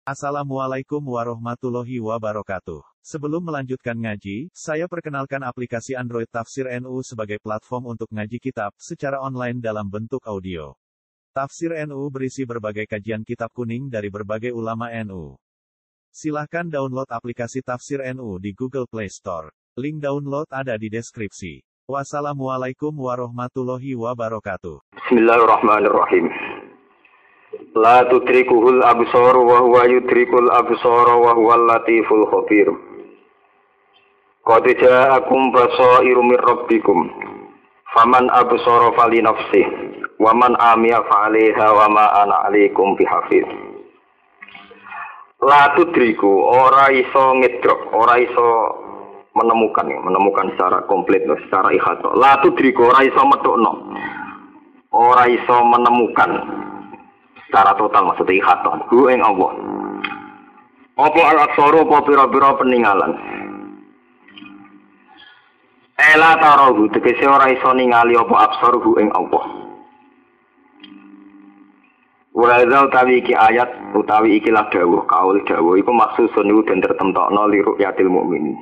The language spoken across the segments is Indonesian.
Assalamualaikum warahmatullahi wabarakatuh. Sebelum melanjutkan ngaji, saya perkenalkan aplikasi Android Tafsir NU sebagai platform untuk ngaji kitab secara online dalam bentuk audio. Tafsir NU berisi berbagai kajian kitab kuning dari berbagai ulama NU. Silahkan download aplikasi Tafsir NU di Google Play Store. Link download ada di deskripsi. Wassalamualaikum warahmatullahi wabarakatuh. Bismillahirrahmanirrahim. La tudrikuhul absar wa huwa yudrikul absar wa huwal latiful khabir. Qad ja'akum basairu mir rabbikum. Faman absara fali nafsih wa man amiya fa 'alaiha wa ma ana 'alaikum bihafiz. La tudriku ora iso ngedrok, ora iso menemukan secara komplit, secara ihata. La tudriku ora iso metokno. Ora iso menemukan secara total, maksudnya ikhaton hu ing Allah. Apa al-absaru apa pira-pira peninggalan. Ela tarahu tegese ora iso ningali apa absar hu ing Allah. Wa hadza utawi iki ayat utawi ikilah dawuh kaul dawuh iku maksusun iku den tertentokno li ru'yatil mukmin.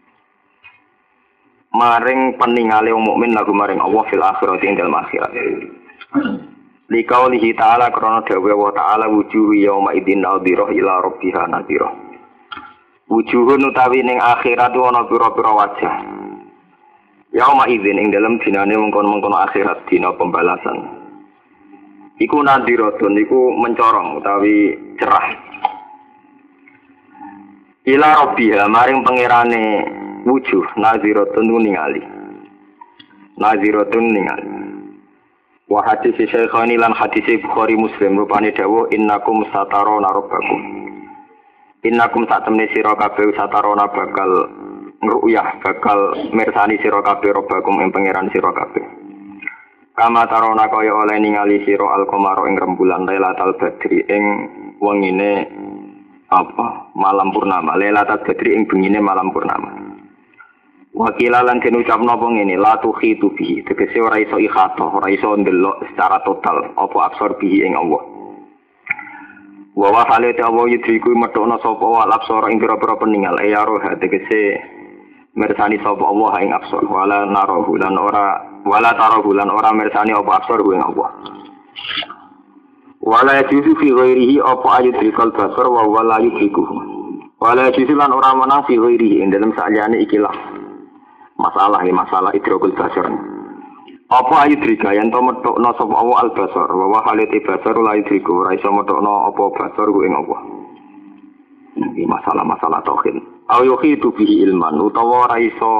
Maring peningale wong mukmin lagu maring Allah fil akhirati ing dalem akhirat. Likaulihi ta'ala karena dawuh wa ta'ala wujuhu yauma idzin nadhirah ila rabbiha nadhirah. Wujuhun utawi ning akhirat ana pira-pira wajah. Yauma idzin ing dalem dinane mengkon-mengkon akhirat dina pembalasan. Iku nadhiratun iku mencorong utawi cerah. Ila rabbiha maring pangerane wujuh nadhiratun ningali. Nadhiratun ningali. Wa hadis Syekhani lan hadis Bukhari Muslim rupane dawuh innakum satarona rabbakum. Innakum satemene sira kabeh satarona bakal ngruyah bakal mirsani sira kabeh rabbakum ing pangeran sira kabeh. Kama tarona kaya oleh ningali sira al-qamara ing rembulan Lailatul Badri ing wengine malam purnama. Lailatul Badri ing bengine malam purnama. Wakilalan den ucapno apa ngene la tukhitu bihi tegese ora iso ikhata ora iso ndelok secara total apa absar bihi ing Allah. Wa wa halate Allah yudriku metokno sapa wal absar ing pira-pira peninggal ya roh tegese mirsani sapa Allah ing absar wala narahu lan ora mirsani apa absar ing Allah. Wala yajuzu fi ghairihi apa ayudrikal basar wa wala yudrikuhu. Wala yajuzu lan ora menang fi ghairihi ing dalem saliyane ikilah masalah idrokul basar. Apa ayudrika yen to metokno sapa Allah al-basar wa halite basar la yudriku ora iso metokno apa basar ku ing Allah. Iki masalah tauhid. Au yuhitu bihi ilman utawa ora iso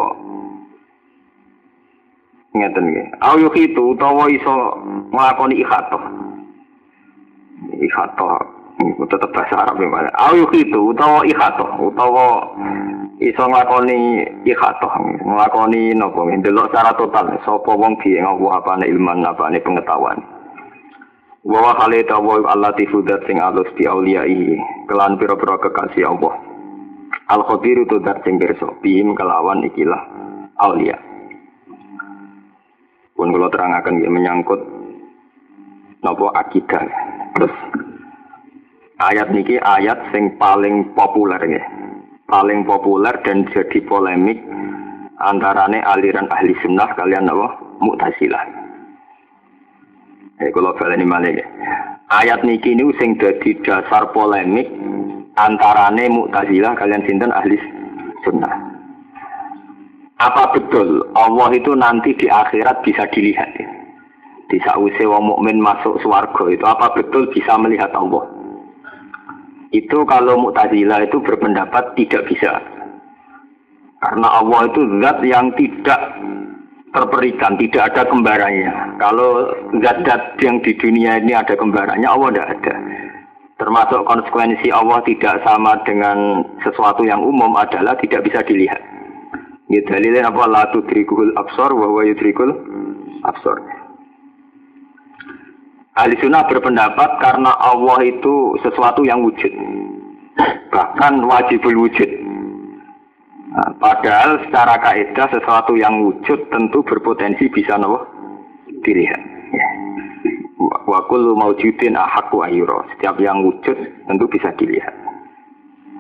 ngeten nggih. Au yuhitu utawa iso nglakoni ikhatoh. Ikhatoh itu tetap bahasa Arab ya. Au yuhitu utawa ikhatoh utawa iso nglakoni ikhatoh, nglakoni napa ndelok secara total sapa wong bi ing Allah apane ilman apane pengetahuan. Wa halita wa allatifu dzat sing alus bi auliyai kelan pira-pira kekasih Allah. Al khabir tu dzat sing pirsa bihim kelawan ikilah auliya. Pun kula terangaken nggih menyangkut napa akidah. Terus ayat niki ayat sing paling populer nggih. Paling populer dan jadi polemik antarane aliran ahli sunnah kalian apa Mu'tazilah. Kalau baleni malih ayat niki niku sing dadi dasar polemik antarane Mu'tazilah kalian sinten ahli sunnah. Apa betul Allah itu nanti di akhirat bisa dilihat? Di sause wong mukmin masuk swarga itu apa betul bisa melihat Allah? Itu kalau Mu'tazilah itu berpendapat tidak bisa. Karena Allah itu zat yang tidak terperikan, tidak ada kembarannya. Kalau zat-zat yang di dunia ini ada kembarannya, Allah tidak ada. Termasuk konsekuensi Allah tidak sama dengan sesuatu yang umum adalah tidak bisa dilihat. Ya dalilnya apa? La tudrikul absar wa huwa yudrikul absar. Ahli sunnah berpendapat karena Allah itu sesuatu yang wujud, bahkan wajibul wujud. Nah, padahal secara kaidah sesuatu yang wujud tentu berpotensi bisa dilihat. Ya. Wa kullu maujudin ahaqqu ayyura. Setiap yang wujud tentu bisa dilihat.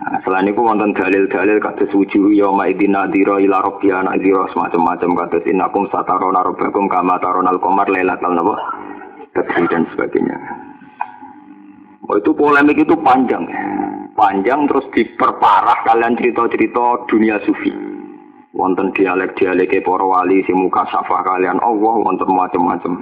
Nah, selain itu wonten dalil-dalil kados wujuh yauma idzin nadhira ila rabbiha nadhira semacam-macam kados innakum satarona rabbakum kama taronal qamar lailatal badri dan sebagainya. Oh, itu polemik itu panjang. Panjang terus diperparah kalian cerita-cerita dunia sufi. Wonten dialek-dialek para wali sing muka safah kalian Allah wonten macam-macam.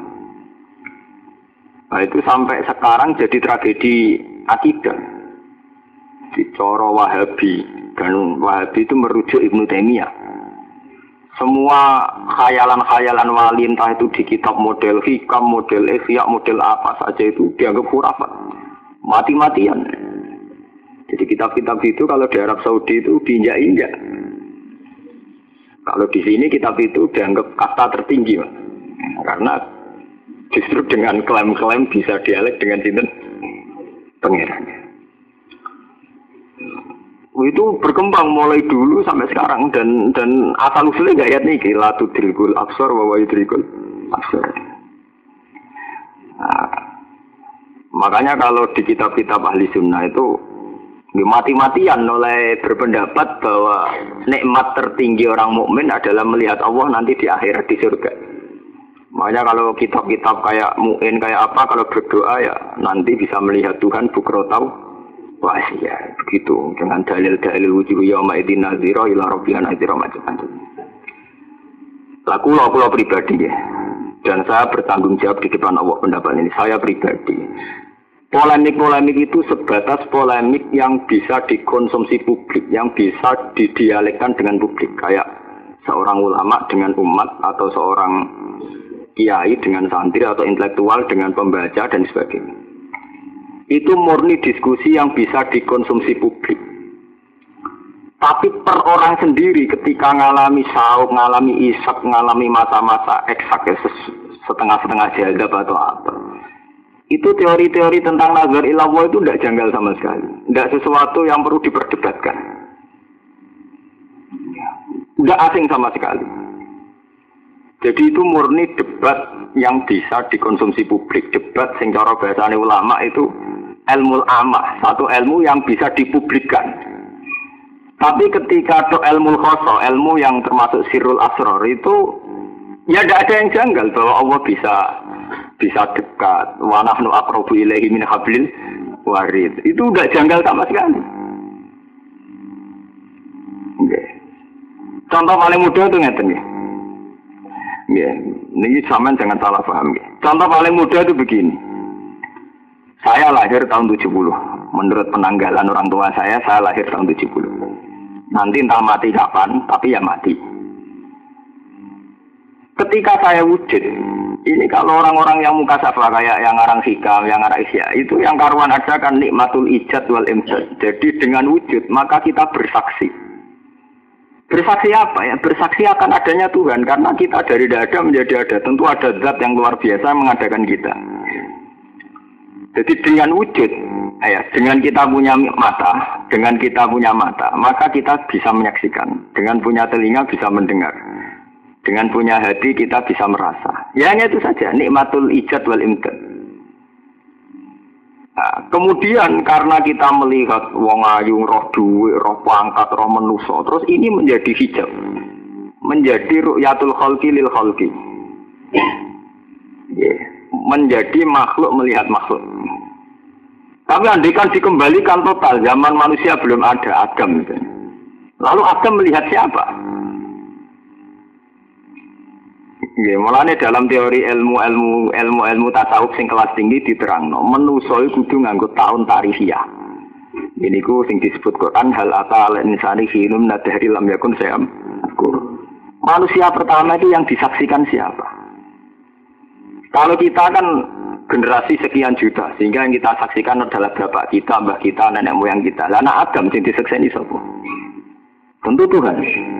Nah, itu sampai sekarang jadi tragedi akidah. Di coro Wahabi, dan Wahabi itu merujuk Ibnu Taimiyah. Semua khayalan-khayalan wali entah itu di kitab model hikam, model ihya, model apa saja itu dianggap khurafat, mati-matian. Jadi kitab-kitab itu kalau di Arab Saudi itu diinjak-injak. Kalau di sini kitab itu dianggap kasta tertinggi, Mas. Karena justru dengan klaim-klaim bisa dialek dengan sinten pangeran. Itu berkembang mulai dulu sampai sekarang dan asal usulnya gak ayat nih la tudrikul absar wa yudrikul absar. Nah, makanya kalau di kitab-kitab ahli sunnah itu mati-matian oleh berpendapat bahwa nikmat tertinggi orang mukmin adalah melihat Allah nanti di akhirat di surga. Makanya kalau kitab-kitab kayak Mu'in kayak apa kalau berdoa ya nanti bisa melihat Tuhan bukrotau. Wah ya begitu dengan dalil-dalil wujuh yauma idzin nadhira ila rabbiha nadhira macam-macam. Laku pribadi ya. Dan saya bertanggung jawab di depan Allah pendapat ini. Saya pribadi. Polemik-polemik itu sebatas polemik yang bisa dikonsumsi publik, yang bisa didialekkan dengan publik. Kayak seorang ulama dengan umat atau seorang kiai dengan santri atau intelektual dengan pembaca dan sebagainya. Itu murni diskusi yang bisa dikonsumsi publik. Tapi per orang sendiri ketika ngalami sauk, ngalami isak, ngalami masa-masa eksak, setengah-setengah jadab atau apa. Itu teori-teori tentang nazar ilallah itu tidak janggal sama sekali. Tidak sesuatu yang perlu diperdebatkan. Tidak asing sama sekali. Jadi itu murni debat yang bisa dikonsumsi publik. Debat sing cara bahasane ulama itu ilmu amah, satu ilmu yang bisa dipublikkan. Tapi ketika itu ilmu khoso, ilmu yang termasuk sirrul asrar itu ya tidak ada yang janggal bahwa Allah bisa dekat. Wa nahnu aqrabu ilaihi min hablil warid. Itu tidak janggal sama sekali. Okay. Contoh paling mudah itu ngeten ya. Ini sampean jangan salah paham. Contoh paling mudah itu begini. Saya lahir tahun 70. Menurut penanggalan orang tua saya lahir tahun 70. Nanti entah mati kapan, tapi ya mati. Ketika saya wujud, ini kalau orang-orang yang muka safa kayak yang ngarang hikam, yang ngarang isya, itu yang karuan ada kan nikmatul ijad wal imjad. Jadi dengan wujud, maka kita bersaksi. Bersaksi apa ya? Bersaksi akan adanya Tuhan. Karena kita dari tidak ada menjadi ada. Tentu ada zat yang luar biasa mengadakan kita. Jadi dengan wujud, dengan kita punya mata, maka kita bisa menyaksikan. Dengan punya telinga bisa mendengar. Dengan punya hati kita bisa merasa. Ya hanya itu saja, nikmatul ijad wal imdad. Nah, kemudian karena kita melihat wong ayu, roh duwe, roh pangkat, roh manusa, terus ini menjadi hijab. Menjadi ru'yatul khalqi lil khalqi. Menjadi makhluk melihat makhluk. Tapi andaikan dikembalikan total, zaman manusia belum ada Adam. Lalu Adam melihat siapa? Mulane dalam teori ilmu tasawuf sing kelas tinggi diterangno, manusa iku kudu nganggo taun tarihiyah. Niku sing disebut Quran hal ata al insani hinum nadhari lam yakun syai'an. Manusia pertama itu yang disaksikan siapa? Kalau kita kan generasi sekian juta, sehingga yang kita saksikan adalah bapak kita, mbah kita, nenek moyang kita. Lah anak Adam sing disakseni sapa? Tentu Tuhan.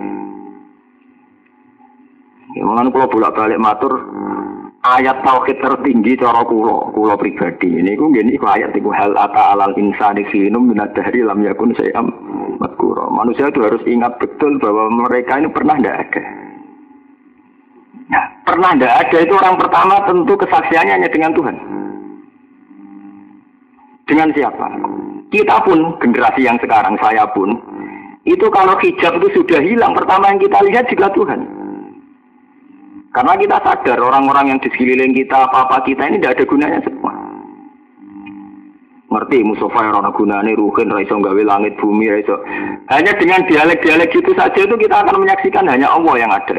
Mulane kula bolak-balik matur ayat tauhid tertinggi cara kula pribadi. Niku nggih niku ayat iku hal ata alal insani hinum minadhari lam yakun syai'am madhkura. Manusia itu harus ingat betul bahwa mereka ini pernah tidak ada. Nah, pernah tidak ada itu orang pertama tentu kesaksiannya hanya dengan Tuhan. Dengan siapa? Kita pun, generasi yang sekarang, saya pun, itu kalau hijab itu sudah hilang, pertama yang kita lihat juga Tuhan. Karena kita sadar orang-orang yang di sekeliling kita, apa-apa kita ini tidak ada gunanya semua. Ngerti Mustafa yang ada gunanya, Ruhin, Raiso, gawe langit, bumi, Raiso. Hanya dengan dialek-dialek gitu saja itu kita akan menyaksikan hanya Allah yang ada.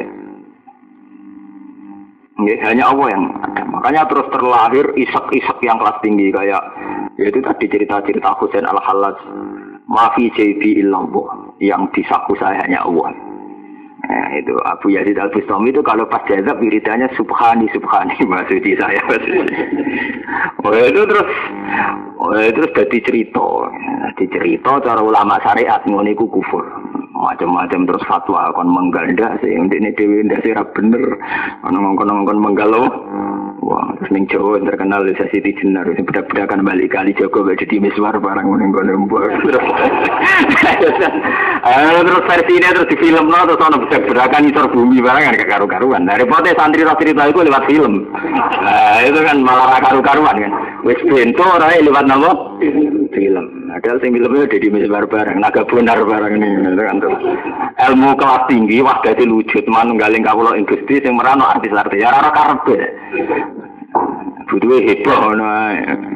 Hanya Allah yang ada. Makanya terus terlahir isak-isak yang kelas tinggi kayak yaitu tadi cerita-cerita Husain al-Hallaj, mafi jaybi illallah, yang di saku saya hanya Allah. Nah, itu Abu Yazid al-Bustami itu kalau pas jazab wiridannya subhani maksudnya saya. Terus jadi cerita cara ulama syariat ngono iku kufur. Macam-macam terus fatwa kon menggalda sih ndekne dhewe ndak sira bener ana ngongkon-ngongkon menggalau. Wah, terus ning Jawa terkenal desa Siti Jenar sing bedak-bedakan balik kali Joko jadi miswar barang ngono mbok. Terus versinya terus di filmno terus ana bedak-bedakan isor bumi barang kan karu-karuan. Dari pote santri cerita itu lewat film. Nah, itu kan malah karu-karuan kan. Wis bento ora lewat napa? Film. Padahal sing filmnya jadi miswar barang, naga bonar barang ini kan. Ilmu kelas tinggi wah dadi wujud manunggaling kawula ing Gusti sing merano artis-artis ya ora karepe. Butuhe heboh ngono ae.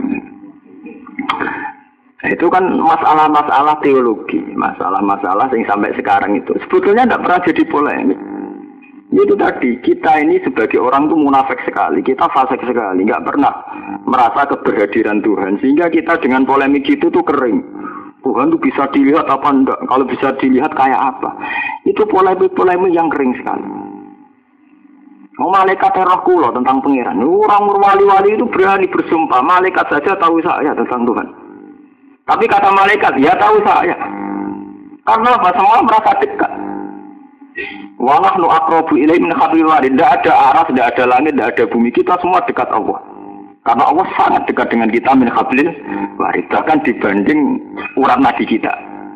Itu kan masalah-masalah teologi, masalah-masalah yang sampai sekarang itu sebetulnya tidak pernah jadi polemik. Itu tadi, kita ini sebagai orang tuh munafik sekali, kita fasik sekali, nggak pernah merasa keberhadiran Tuhan, sehingga kita dengan polemik itu tuh kering. Tuhan tuh bisa dilihat apa enggak, kalau bisa dilihat kayak apa. Itu polemik-polemik yang kering sekali. Malaikat roh kula tentang pangeran. Orang wali-wali itu berani bersumpah, malaikat saja tahu saya tentang Tuhan. Tapi kata malaikat, ya tahu saya. Karena apa? Semua merasa dekat. Wa nahnu aqrabu ilaihi min hablil warid. Tidak ada aras, tidak ada langit, tidak ada bumi. Kita semua dekat Allah. Karena Allah sangat dekat dengan kita min hablil warid. Bahkan dibanding urat nadi kita.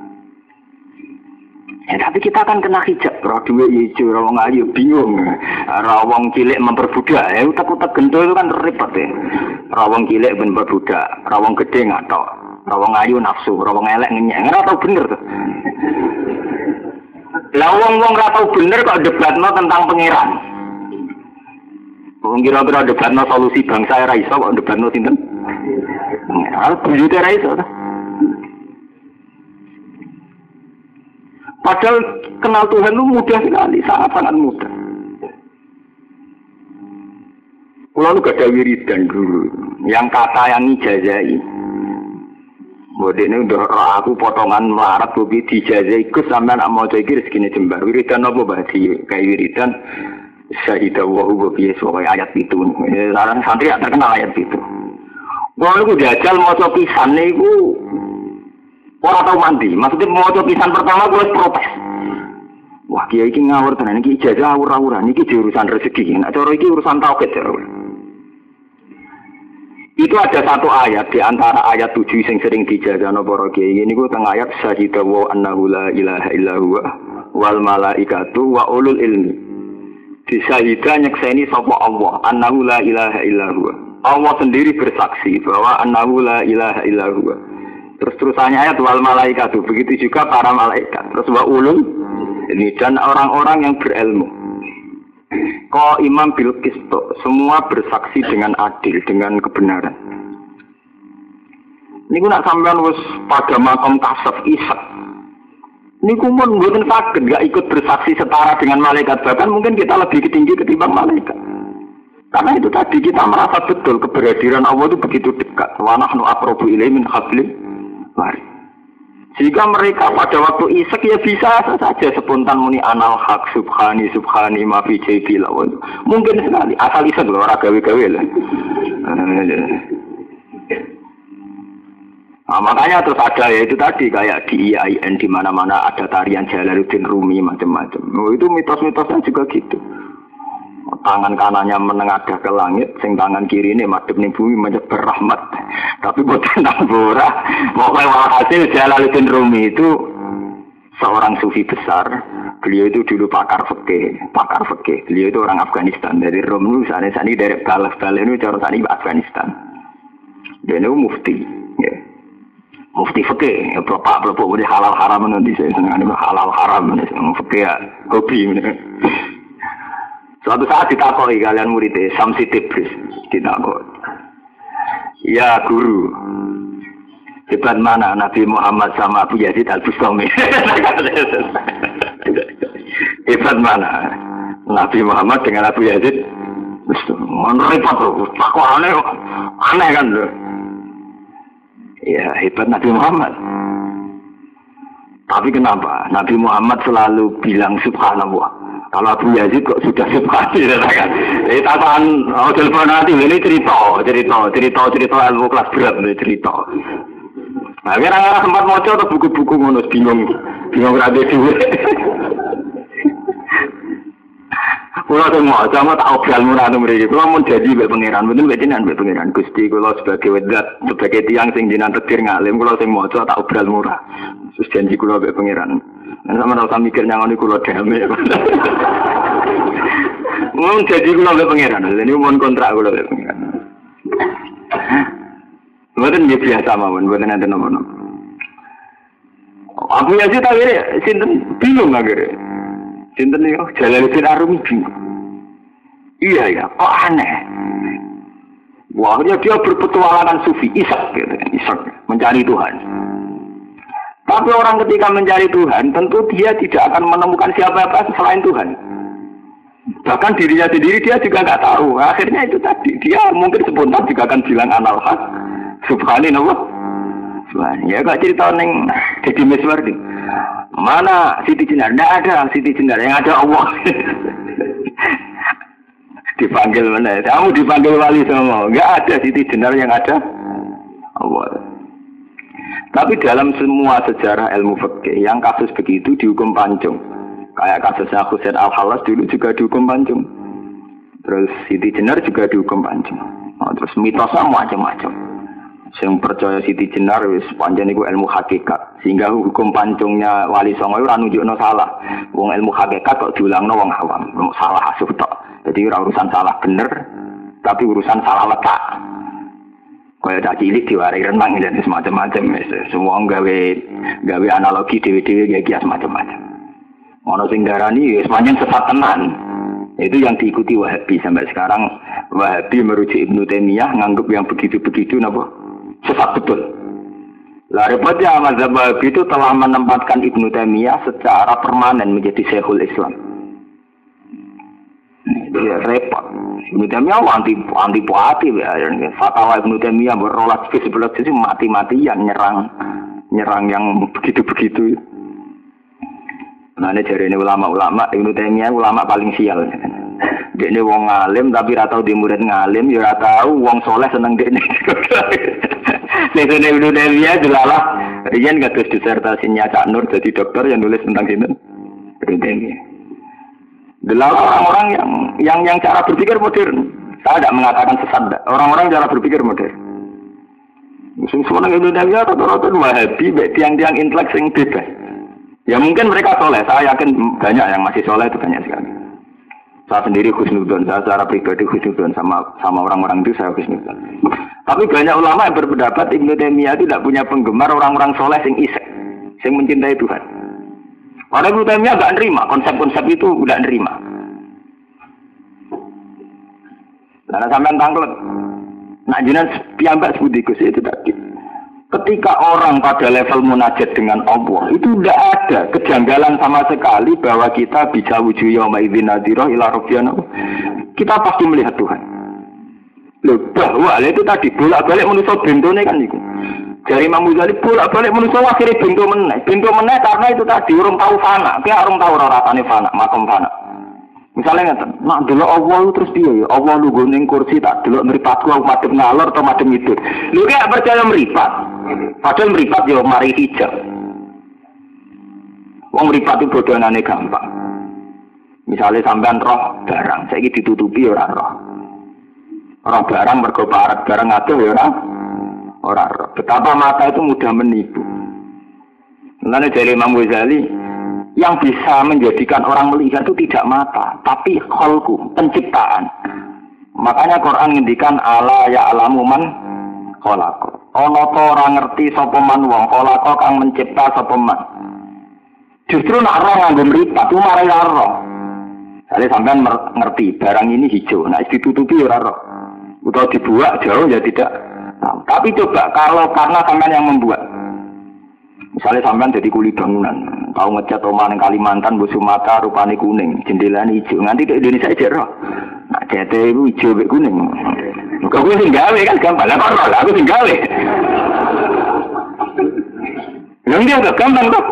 Ya, tapi kita akan kena hijab. Roh duwe ijo, rawang ayu bingung. Rawang cilik memperbudak. Ya utek-utek gento itu kan repot ya. Rawang cilik memperbudak, rawang gede ngatok. Rawang ayu nafsu, rawang elek ngenyek. Ora tau bener tuh. Lah wong-wong ora tau bener kok debatno tentang pangeran. Wong kira-kira debatno solusi bangsa ora iso kok debatno sinten? Pangeran buyute ora iso. Padahal kenal Tuhan itu mudah sekali, sangat-sangat mudah. Kalau lu gak ada wiridan dulu, yang kata yang ijazai. Bodi ini udah aku potongan melarat, bobi dijazai ikut sampai anak mau cekir segini jembar. Wiridan apa bahasi kayak wiridan Syahidah wahu bobi soal ayat itu. Sekarang santri gak terkenal ayat itu. Kalau lu jajal mau copisan itu. Orang tahu mandi, maksudnya mau pisan pertama gue protes. Wah kiai iki ngawur tenan iki ijazah awur-awuran iki urusan rezeki. Nek cara iki urusan tauhid ya. Itu ada satu ayat di antara ayat 7 yang sering dijazahno para kiai. Niku teng ayat syahidah wa annahu la ilaha illa huwa wal malaikatu wa ulul ilmi. Disyahidah nyekseni sapa Allah annahu la ilaha illa huwa. Allah sendiri bersaksi bahwa annahu la ilaha illa huwa. Terus-terusannya ayat wal malaikat itu begitu juga para malaikat. Terus wa ulul ini dan orang-orang yang berilmu. Kau imam bil qisto semua bersaksi dengan adil dengan kebenaran. Niku nak sampean wis pada makom kasaf isak. Niku mun mboten saged gak ikut bersaksi setara dengan malaikat, bahkan mungkin kita lebih tinggi ketimbang malaikat. Karena itu tadi kita merasa betul keberhadiran Allah itu begitu dekat. Wa nahnu aqrabu ilaihi min hablil warid. Jika mereka pada waktu isek ya bisa saja spontan muni anal haq subhani ma fi jaybi lawan. Mungkin sekali asal isek lho ora gawe-gawe lah. Nah, makanya terus ada ya itu tadi kayak di IAIN di mana-mana ada tarian Jalaluddin Rumi macam-macam. Oh, itu mitos-mitosnya juga gitu. Tangan kanannya menengadah ke langit, sing tangan kiri ini madhep ning bumi menyebar rahmat. Tapi boten tambora. Pokoke hasil Jalaluddin Rumi itu seorang sufi besar. Beliau itu dulu pakar fikih. Beliau itu orang Afghanistan. Dari Rom itu sana-sana dari Balaf itu cara sana Afghanistan. Dia itu mufti. Ya. mufti fikih, bapak-bapak udah halal haram nanti saya senang halal haram nanti fikih ya hobi. Suatu saat ditakoi kalian muridnya Samsi Tibris ditakoi. Ya guru, hebat mana Nabi Muhammad sama Abu Yazid Al-Bustami? Hebat mana Nabi Muhammad dengan Abu Yazid? Repot loh, takut aneh kan loh. Ya hebat Nabi Muhammad. Tapi kenapa Nabi Muhammad selalu bilang subhanallah? Kalau Abu Yazid kok sudah subhanallah kan? Tataan telepon nanti ini cerita ilmu kelas berat nih cerita. Nah, kira-kira sempat moco atau buku-buku ngono bingung rabe dhewe. Kula sing maca sama tak obral murah mriki. Kula mun jadi mbek pangeran, mboten mbek jenengan mbek pangeran. Gusti kula sebagai wedat, sebagai tiyang sing jenengan tekdir ngalim, kula sing maca tak obral murah. Terus janji kula mbek pangeran. Nek sampeyan ora mikir nyangoni kula dame. Mun jadi kula mbek pangeran, lha niku mun kontrak kula mbek pangeran. Mboten biasa mawon, mboten enten nopo-nopo. Aku ya sih tak sinten bingung akhirnya. Sinten yo Jalaluddin Arumi bingung. Iya ya, kok aneh. Wah, dia berpetualangan sufi, Ishak gitu, Ishak mencari Tuhan. Tapi orang ketika mencari Tuhan, tentu dia tidak akan menemukan siapa-siapa selain Tuhan. Bahkan dirinya sendiri dia juga nggak tahu. Akhirnya itu tadi, dia mungkin spontan juga akan bilang analhaq, subhanallah. Ya kok cerita neng Deddy Miswardi. Mana Siti Jenar? Tidak ada Siti Jenar, yang ada Allah. Dipanggil mana? Kamu dipanggil wali semua. Enggak ada Siti Jenar, yang ada Allah. Tapi dalam semua sejarah ilmu fikih yang kasus begitu dihukum pancung. Kayak kasusnya Husain Al-Halas dulu juga dihukum pancung. Terus Siti Jenar juga dihukum pancung. Nah, terus mitosnya macam-macam. Yang percaya Siti Jenar wis pancen iku ilmu hakikat. Sehingga hukum pancungnya Wali Songo ora nunjukno salah. Wong ilmu hakikat kok diulangno wong awam. Salah asuh tok. Jadi ora urusan salah bener, tapi urusan salah letak. Kaya tak cilik diwarai renang dan semacam-macam. Semua gawe analogi dewe-dewe kayak kias macam-macam. Ono sing darani wis pancen sesat tenan. Itu yang diikuti Wahabi sampai sekarang. Wahabi merujuk Ibnu Taimiyah nganggep yang begitu-begitu napa? Sesat betul. Lah repotnya mazhab Wahabi itu telah menempatkan Ibnu Taimiyah secara permanen menjadi Syekhul Islam. Dia repot. Ibnu Taimiyah anti puati ya. Fatwa Ibnu Taimiyah berolah sebelah sisi mati-matian nyerang yang begitu-begitu. Nah ini dari ini ulama-ulama Ibnu Taimiyah ulama paling sial. Dia ini wong ngalim tapi ora tau di murid ngalim, ya ora tau wong soleh seneng dekne. Nek Ibnu Taimiyah delalah riyen kados disertasinya Cak Nur jadi dokter yang nulis tentang ini. Ibnu Taimiyah. Delalah orang-orang yang cara berpikir modern. Saya tidak mengatakan sesat. Orang-orang cara berpikir modern. Semua orang Ibnu Taimiyah rata-rata Wahabi, tiang-tiang intelek sing bebas. Ya mungkin mereka soleh, saya yakin banyak yang masih soleh itu banyak sekali. Saya sendiri husnudzon, saya secara pribadi husnudzon sama orang-orang itu saya husnudzon. Tapi banyak ulama yang berpendapat Ibnu Taimiyah tidak punya penggemar orang-orang soleh sing isek, sing mencintai Tuhan. Karena Ibnu Taimiyah nggak nerima konsep-konsep itu, nggak nerima. Karena sampean tangklet, nak jinan piyambak sebudikus itu tadi. Ketika orang pada level munajat dengan Allah itu tidak ada kejanggalan sama sekali bahwa kita bisa wujud yauma idzin nadhirah ila rabbina. Kita pasti melihat Tuhan. Loh, bahwa itu tadi bolak-balik manusia bentone kan itu. Dari Imam Ghazali bolak-balik manusia akhirnya bento meneh karena itu tadi urung tahu fana. Kayak urung tahu rasane fana, makom fana. Misalnya ngeten, nak delok Allah terus piye ya? Allah lungguh ning kursi tak delok mripatku aku madhep ngalor atau madhep ngidul. Lho gak percaya mripat. Padahal mripat yo mari hijab. Wong mripat itu bodonane gampang. Misalnya sampean roh barang, saiki ditutupi ora roh. Roh barang mergo parat barang adoh ya ora roh. Betapa mata itu mudah menipu. Mulane dari Imam Ghazali yang bisa menjadikan orang melihat itu tidak mata, tapi kholku, penciptaan. Makanya Quran ngendikan ala ya alamu man kholaqo. ana ta ora ngerti sapa man wong kala kang mencipta sapa man. Justru nak roh nganggo mripat ku marai roh. Jare sampean ngerti barang ini hijau, nah ditutupi ora roh. Utawa dibuat jauh ya tidak. Nah, tapi coba kalau karena sampean yang membuat. Misalnya sampean jadi kuli bangunan, tahu ngecat omah ning Kalimantan, mbok Sumatera rupane kuning, jendelane hijau. Nganti ke Indonesia aja roh. Nah, cete iku hijau mek kuning. Kok kuwi sing gawe kan gampang. Lah kok roh, aku sing gawe. Yang dia agak gampang kok.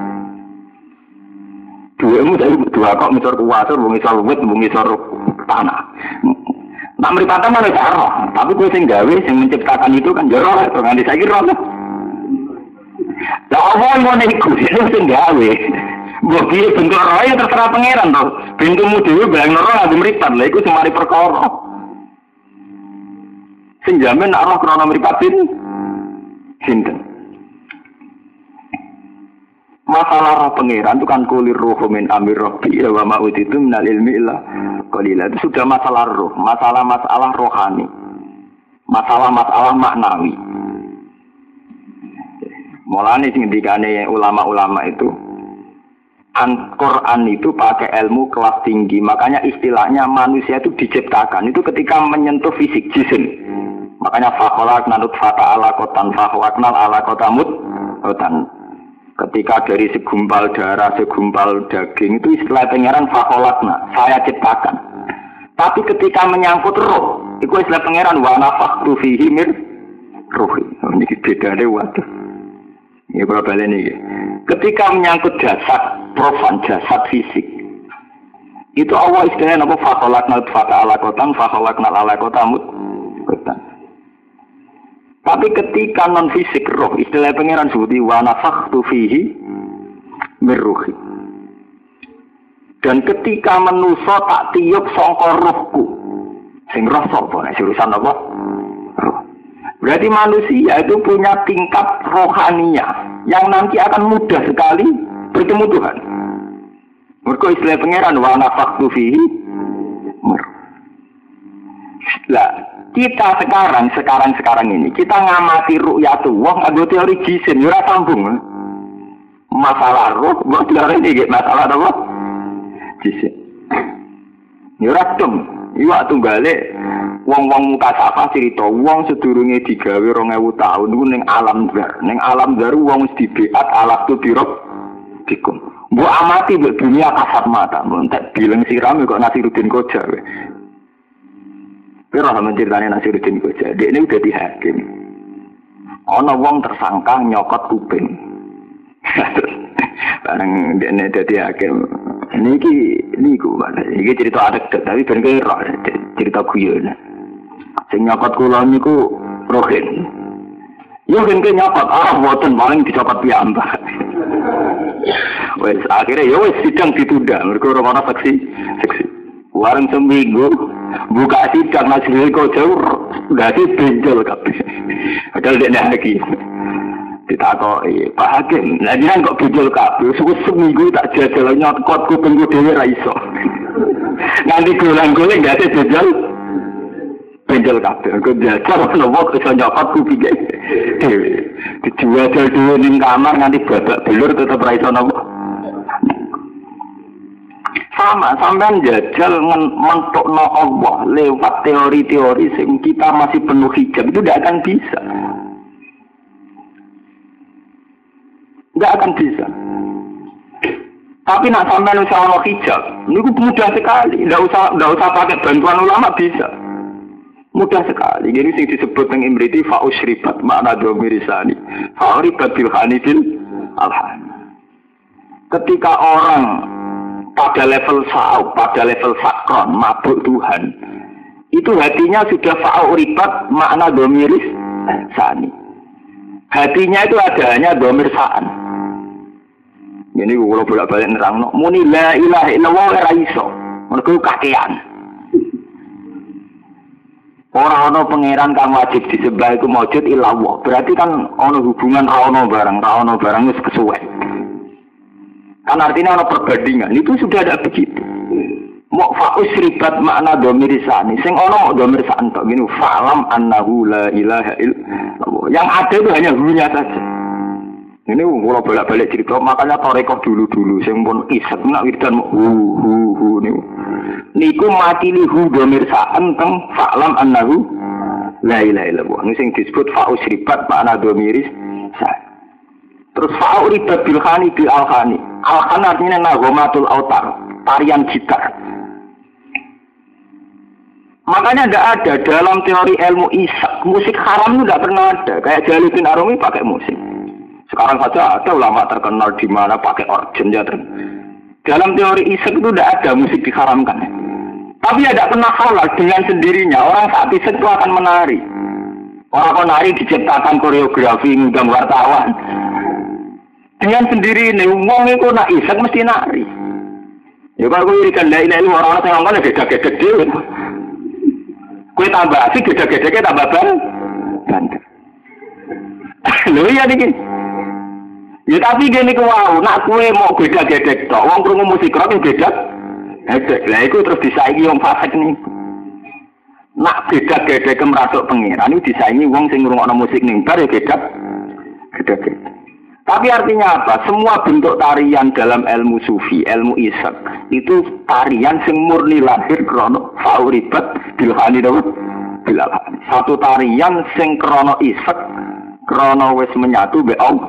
Duemu dari dua kok misor kuwasur, wong isor wit, wong isor tanah. Nak mripate malah roh, tapi kowe sing gawe, sing menciptakan itu kan ya roh, nganti saiki roh. Lah apa ngene iku sing gawe. Mbok piye bentuk roh ya terserah pangeran to. Bentukmu dhewe bayang roh nganggo mripat, lha iku semari perkara. Sing jamin nak roh krana mripatin sinten? Masalah roh pangeran itu kan kulir ruh min amir rabbi wa ma utitu minal ilmi illa qalila. Itu sudah masalah roh, masalah rohani. Masalah maknawi. Mulane sing ngendikane ulama-ulama itu Al-Quran itu pakai ilmu kelas tinggi. Makanya istilahnya manusia itu diciptakan itu ketika menyentuh fisik jisim. Makanya fakholakna nutfata alaqatan fakhwaknal alaqatamut dan ketika dari segumpal darah, segumpal daging itu istilah pangeran fakholakna, saya ciptakan. Tapi ketika menyangkut roh, itu istilah pangeran wa nafakhtu fihi mir ruhi. Ini bedane waduh. Ya berapa ini? Ketika menyangkut jasad profan, jasad fisik, itu Allah istilahnya apa? Fakholakna nutfata alaqatan fakholaknal alaqatamut dan. Tapi ketika non fisik roh, istilah pangeran sebuti wa nafakhtu fihi mir ruhi. Dan ketika manusa tak tiup sangka rohku, sing roh sapa nek urusan apa? Roh. Berarti manusia itu punya tingkat rohania yang nanti akan mudah sekali bertemu Tuhan. Mergo istilah pangeran wa nafakhtu fihi mir. Lah kita sekarang ini kita ngamati ru'yatullah nganggo teori jisim ora sambung. Masalah roh kok teori iki masalah apa? Jisim. Ya ora tum, iwak tunggale wong-wong mukasafah cerita wong sedurunge digawe 2000 tahun niku ning alam zar. Ning alam zar wong wis dibeat alat tu dirok dikum. Mbok amati mbok dunia kasat mata, mbok tak bilang siram kok Nasiruddin Koja. Pero menceritanya Nasiruddin Koja, dia ini udah dihakim. Ono wong tersangka nyokot kuping. Barang dia ini udah dihakim. Ini cerita anekdot, tapi bener cerita guyon. Sing nyokot kulon niku Rohin. Yo kan nyokot, boten paling dicopot piyambak. Wes akhirnya ya wes sidang ditunda, mergo ora saksi. Warung seminggu buka sidang Nasiruddin Koja dadi benjol kabeh. Padahal dia lagi ditakoki Pak Hakim, lah jenengan kok benjol kabeh? Seminggu tak jajal nyokot kupingku dhewe ra iso. Nganti golang-goling gak ada benjol kabeh. Kok jajal ono wong iso nyokot kupinge dhewe. Dijual dhewe ning kamar nganti babak belur tetep ra iso nopo. Sama sampean jajal mentokno Allah lewat teori-teori sing kita masih penuh hijab itu tidak akan bisa. Tidak akan bisa. Tapi nak sampean usah ono hijab, niku mudah sekali. Tidak usah pakai bantuan ulama bisa. Mudah sekali. Jadi sing disebut teng imriti fa usribat makna domirisani. Fa uribat bil hanifil alhan. Ketika orang pada level sa'u, pada level sakron, mabuk Tuhan, itu hatinya sudah fa'u ribat makna domiris sani. Hatinya itu ada hanya domir sa'an. Ini kalau bolak-balik nerang, muni la ilaha illallah ora iso, mergo kakean. Ora ana pangeran kang wajib disembah iku maujud illallah. Berarti kan ana hubungan ra ana barang wis kesuwen. Kan artinya ada perbandingan, itu sudah ada begitu. Mok fa'us ribat makna dhamir sani. Sing ana mok dhamir san tok ngene fa'lam annahu la ilaha illallah. Yang ada itu hanya hunya saja. Ini kula bolak-balik cerita, makanya tarekah dulu-dulu sing pun isek nak wiridan hu niku mati li hu dhamir san teng fa'lam annahu la ilaha illallah. Ini sing disebut fa'us ribat makna dhamir sani. Terus fa'u ribat bil khani bil al-khani. Al-khan artinya nagomatul autar, tarian gitar. Makanya tidak ada dalam teori ilmu isak musik haram itu tidak pernah ada. Kayak Jalaluddin Arumi pakai musik. Sekarang saja ada ulama terkenal di mana pakai organ ya. Dalam teori isak itu tidak ada musik diharamkan. Tapi tidak pernah halal dengan sendirinya. Orang saat isak itu akan menari. Orang menari diciptakan koreografi ngundang wartawan. Dengan sendiri ini, wong itu nak isak mesti nari. Ya kalau gue irikan la ilaha illallah orang-orang yang ngomong gede-gede dhewe. Kue tambah asik, gede-gede tambah bandel. Lho iya nih. Ya tapi gini wow, nak kue mau gede-gede tok, wong krungu musik rock beda. Lah iku terus disaingi wong fasik nih. Nak gede-gede kemrasuk pengiran itu disaingi wong sing ngrungokno musik ning bar ya gede-gede. Tapi artinya apa? Semua bentuk tarian dalam ilmu sufi, ilmu isak itu tarian sing murni lahir krono fauribat bilhani dawud bilhani. Satu tarian sing krono isak krono wis menyatu be Allah.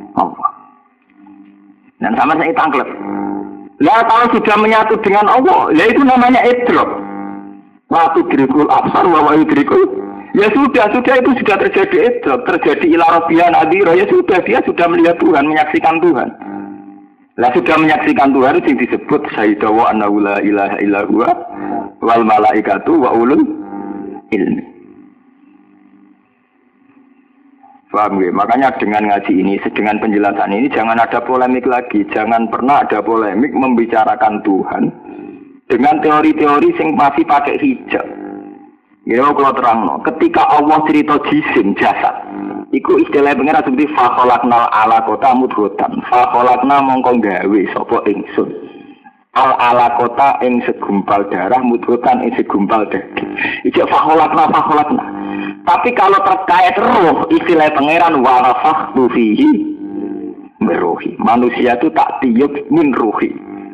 Dan sama saya tangklep. Lah kalau sudah menyatu dengan Allah, ya itu namanya idrok. Waktu dirikul absar wa idrikul. Ya sudah itu sudah terjadi idrok, terjadi ila rabbiyan adhira, ya sudah dia sudah melihat Tuhan, menyaksikan Tuhan. Lah sudah menyaksikan Tuhan itu disebut syahidawa annahu la ilaha illa huwa wal malaikatu wa ulul ilmi. Paham ya? Makanya dengan ngaji ini, dengan penjelasan ini jangan ada polemik lagi, jangan pernah ada polemik membicarakan Tuhan dengan teori-teori yang masih pakai hijab. Ya kalau terang, ketika Allah cerita jisim jasad, iku istilah pengira seperti fakholaknal ala kota mudhotan, fakholakna mongkong gawe sopo ingsun, al ala kota ing segumpal darah mudhotan ing segumpal daging. Ijak fakholakna. Tapi kalau terkait roh, istilah pengiran warafaktu fihi meruhi. Manusia itu tak tiup min ruhi.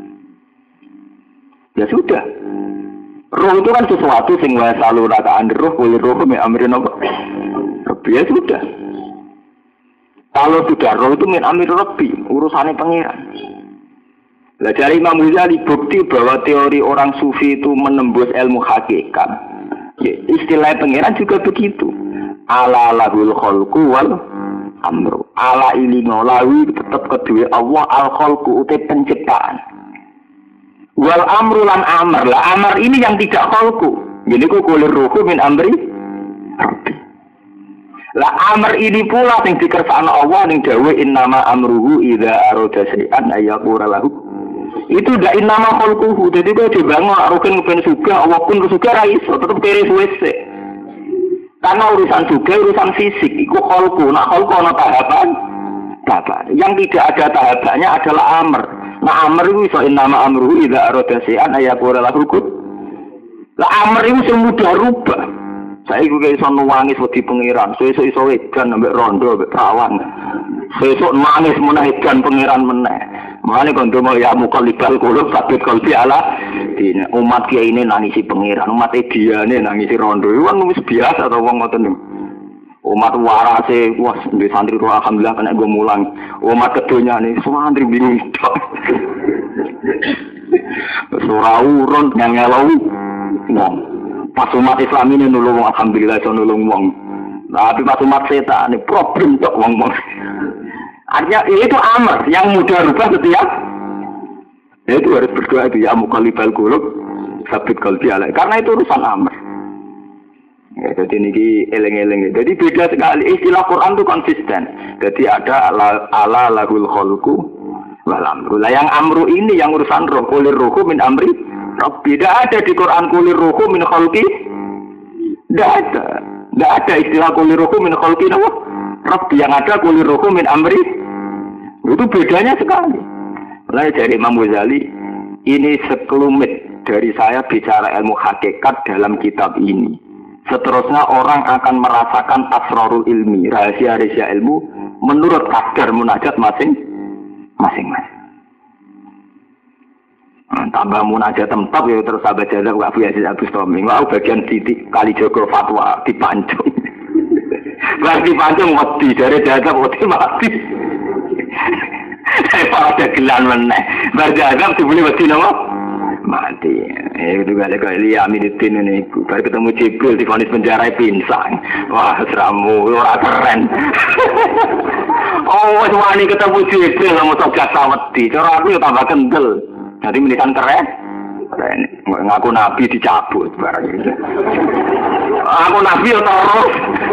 Ya sudah. Roh itu kan sesuatu sing wae selalu rakaan roh, kulir roh me amrin apa? Ya sudah. Kalau sudah roh itu min amir rabbi, urusannya pangeran. Lah dari Imam Ghazali bukti bahwa teori orang sufi itu menembus ilmu hakikat. Ya, istilah pangeran juga begitu. Ala lahul khalqu wal amru. Ala ilingo lawi tetap kedua Allah al khalqu uti penciptaan. Wal amru lan amr. Lah amr ini yang tidak khalqu. Jadi ku kulir ruhu min amri rabbi. Lah amr ini pula yang dikersakno Allah ning dawuh innama amruhu idza arada syai'an ayyaqura lahu. Itu ndak innama khalquhu. Jadi kok dibangun aruken ben sugih Allah pun sugih ra iso tetep kere suwe. Karena urusan sugih urusan fisik iku khalqu. Nak khalqu ana tahapan. Yang tidak ada tahapannya adalah amr. Nah amr itu iso innama amruhu idza arada syai'an ayyaqura lahu kun. Lah amr itu sing mudah rubah. Saiki kok iso nangis wedi pengiran, sesuk iso edan ambek rondo ambek perawan. Sesuk nangis meneh edan pengiran meneh. Mane kon ndonga ya muqallibal qulub sabit qalbi ala dine. Umat kiai ini nangisi pengiran, umat ediane nangisi rondo. Iku kan wis biasa to wong ngoten niku. Umat warase, wah di santri roh alhamdulillah kena gue mulang. Umat kedunya nih, semua santri bingung. Surah urun yang ngelau, wong. Pas umat Islam ini nulung alhamdulillah so nulung wong. Tapi pas umat setan ini problem tok wong. Artinya itu amr yang mudah rubah setiap. Itu harus berdoa itu ya muqallibal qulub sabit qalbi ala. Karena itu urusan amr. Ya, jadi ini eleng-eleng. Jadi beda sekali. Istilah Quran itu konsisten. Jadi ada ala lahul khalqu wal amru. Lah yang amru ini yang urusan roh. Kulir ruhu min amri rabbi. Tidak ada di Quran kulir ruhu min khalqi. Tidak ada. Tidak ada istilah kulir ruhu min khalqi nama rabbi. Yang ada kulir ruhu min amri. Itu bedanya sekali. Mulai dari Imam Ghazali ini sekelumit dari saya bicara ilmu hakikat dalam kitab ini. Seterusnya orang akan merasakan asrarul ilmi, rahasia-rahasia ilmu menurut kadar munajat masing-masing. Tambah munajat tempat ya terus sahabat jazab Abu Yazid Al-Bustami. Wah bagian titik kali Joko fatwa dipancung. Berarti pancung mati dari jazab mati. Saya ada gelan meneh. Berjazab dibeli mati nama mati. Itu kali kali Aminuddin ini. Baru ketemu Jibril di vonis penjara pinsang. Wah seramu ora keren. Oh wani ketemu Jibril mau togat saweti. Cara aku ya tambah kendel. Jadi menisan keren. Ngaku nabi dicabut barang itu. Aku nabi ya terus.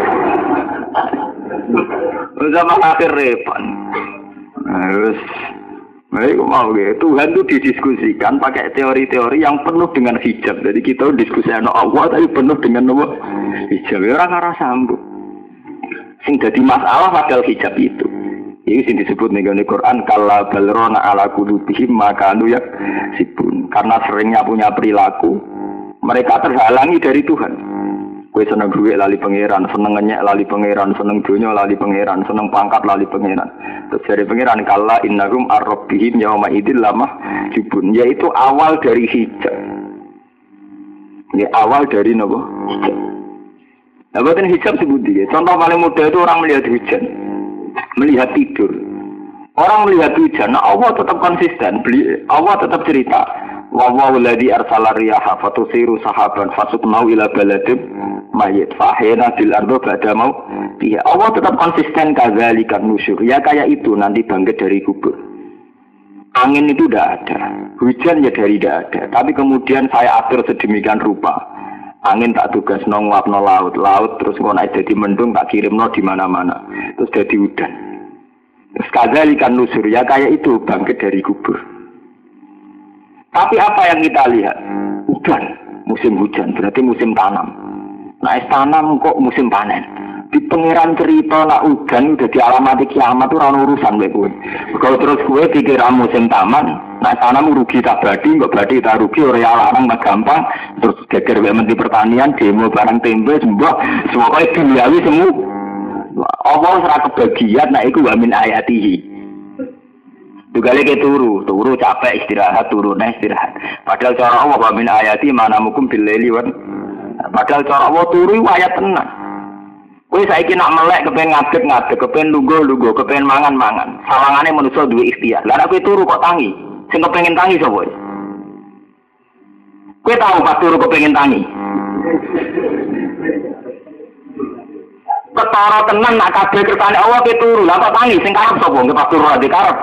Zaman akhir repot. Terus, mereka mau gitu. Tuhan itu didiskusikan pakai teori-teori yang penuh dengan hijab. Jadi kita diskusikan Allah tapi penuh dengan hijab. Orang arah sambung. Sing jadi masalah padahal hijab itu. Ini sing disebut nih Quran kalla balrona ala qulubihim makanu yaksibun. Karena seringnya punya perilaku, mereka terhalangi dari Tuhan. Kue seneng duit lali pangeran, seneng ngenyek lali pangeran, seneng dunya lali pangeran, seneng pangkat lali pangeran. Terus dari pangeran kalla innahum ar-rabbihim yauma idzil lamah jubun, yaitu awal dari hijab. Ini awal dari nopo? Nah, buatan hijab sebutnya. Contoh paling mudah itu orang melihat hujan, melihat tidur. Orang melihat hujan, nah Allah tetap konsisten. Allah tetap cerita. Wa walladzi arsala riyaha fatusiru sahaban fasuknau ila baladin mayyit fahina bil ardo ba'da mau. Allah tetap konsisten kadzalikan nusyur. Ya kayak itu nanti bangkit dari kubur. Angin itu tidak ada, hujan ya dari tidak ada. Tapi kemudian saya atur sedemikian rupa. Angin tak tugas nguapno laut, laut terus ngono dadi mendung tak kirimno di mana-mana. Terus jadi udan. Terus kadzalikan nusyur ya kayak itu bangkit dari kubur. Tapi apa yang kita lihat? Udan, musim hujan, berarti musim tanam. Nah, tanam kok musim panen. Di pangeran cerita nak udan udah dialamati kiamat tuh orang urusan gue. Kalau terus gue pikir musim taman, nah tanam rugi tak badi, nggak badi tak rugi, orang larang tak gampang. Terus geger menteri pertanian, demo barang tempe, semua kayak duniawi semua. Allah serah kebagian, nah itu wamin ayatihi. Dugale ke turu capek istirahat, turu nah istirahat. Padahal cara Allah wa min ayati mana mukum bil laili wan. Padahal cara Allah turu ayat tenang. Kowe saiki nak melek kepen ngadeg, kepen lungguh, kepen mangan. Sawangane manusa duwe ikhtiar. Lah nek kowe turu kok tangi? Sing kepengin tangi sapa? Kowe tahu pas turu kepengin tangi? Ketara tenan nak kabeh kersane Allah kowe turu. Lah kok tangi sing karep sapa? Nggih pas turu ade karep.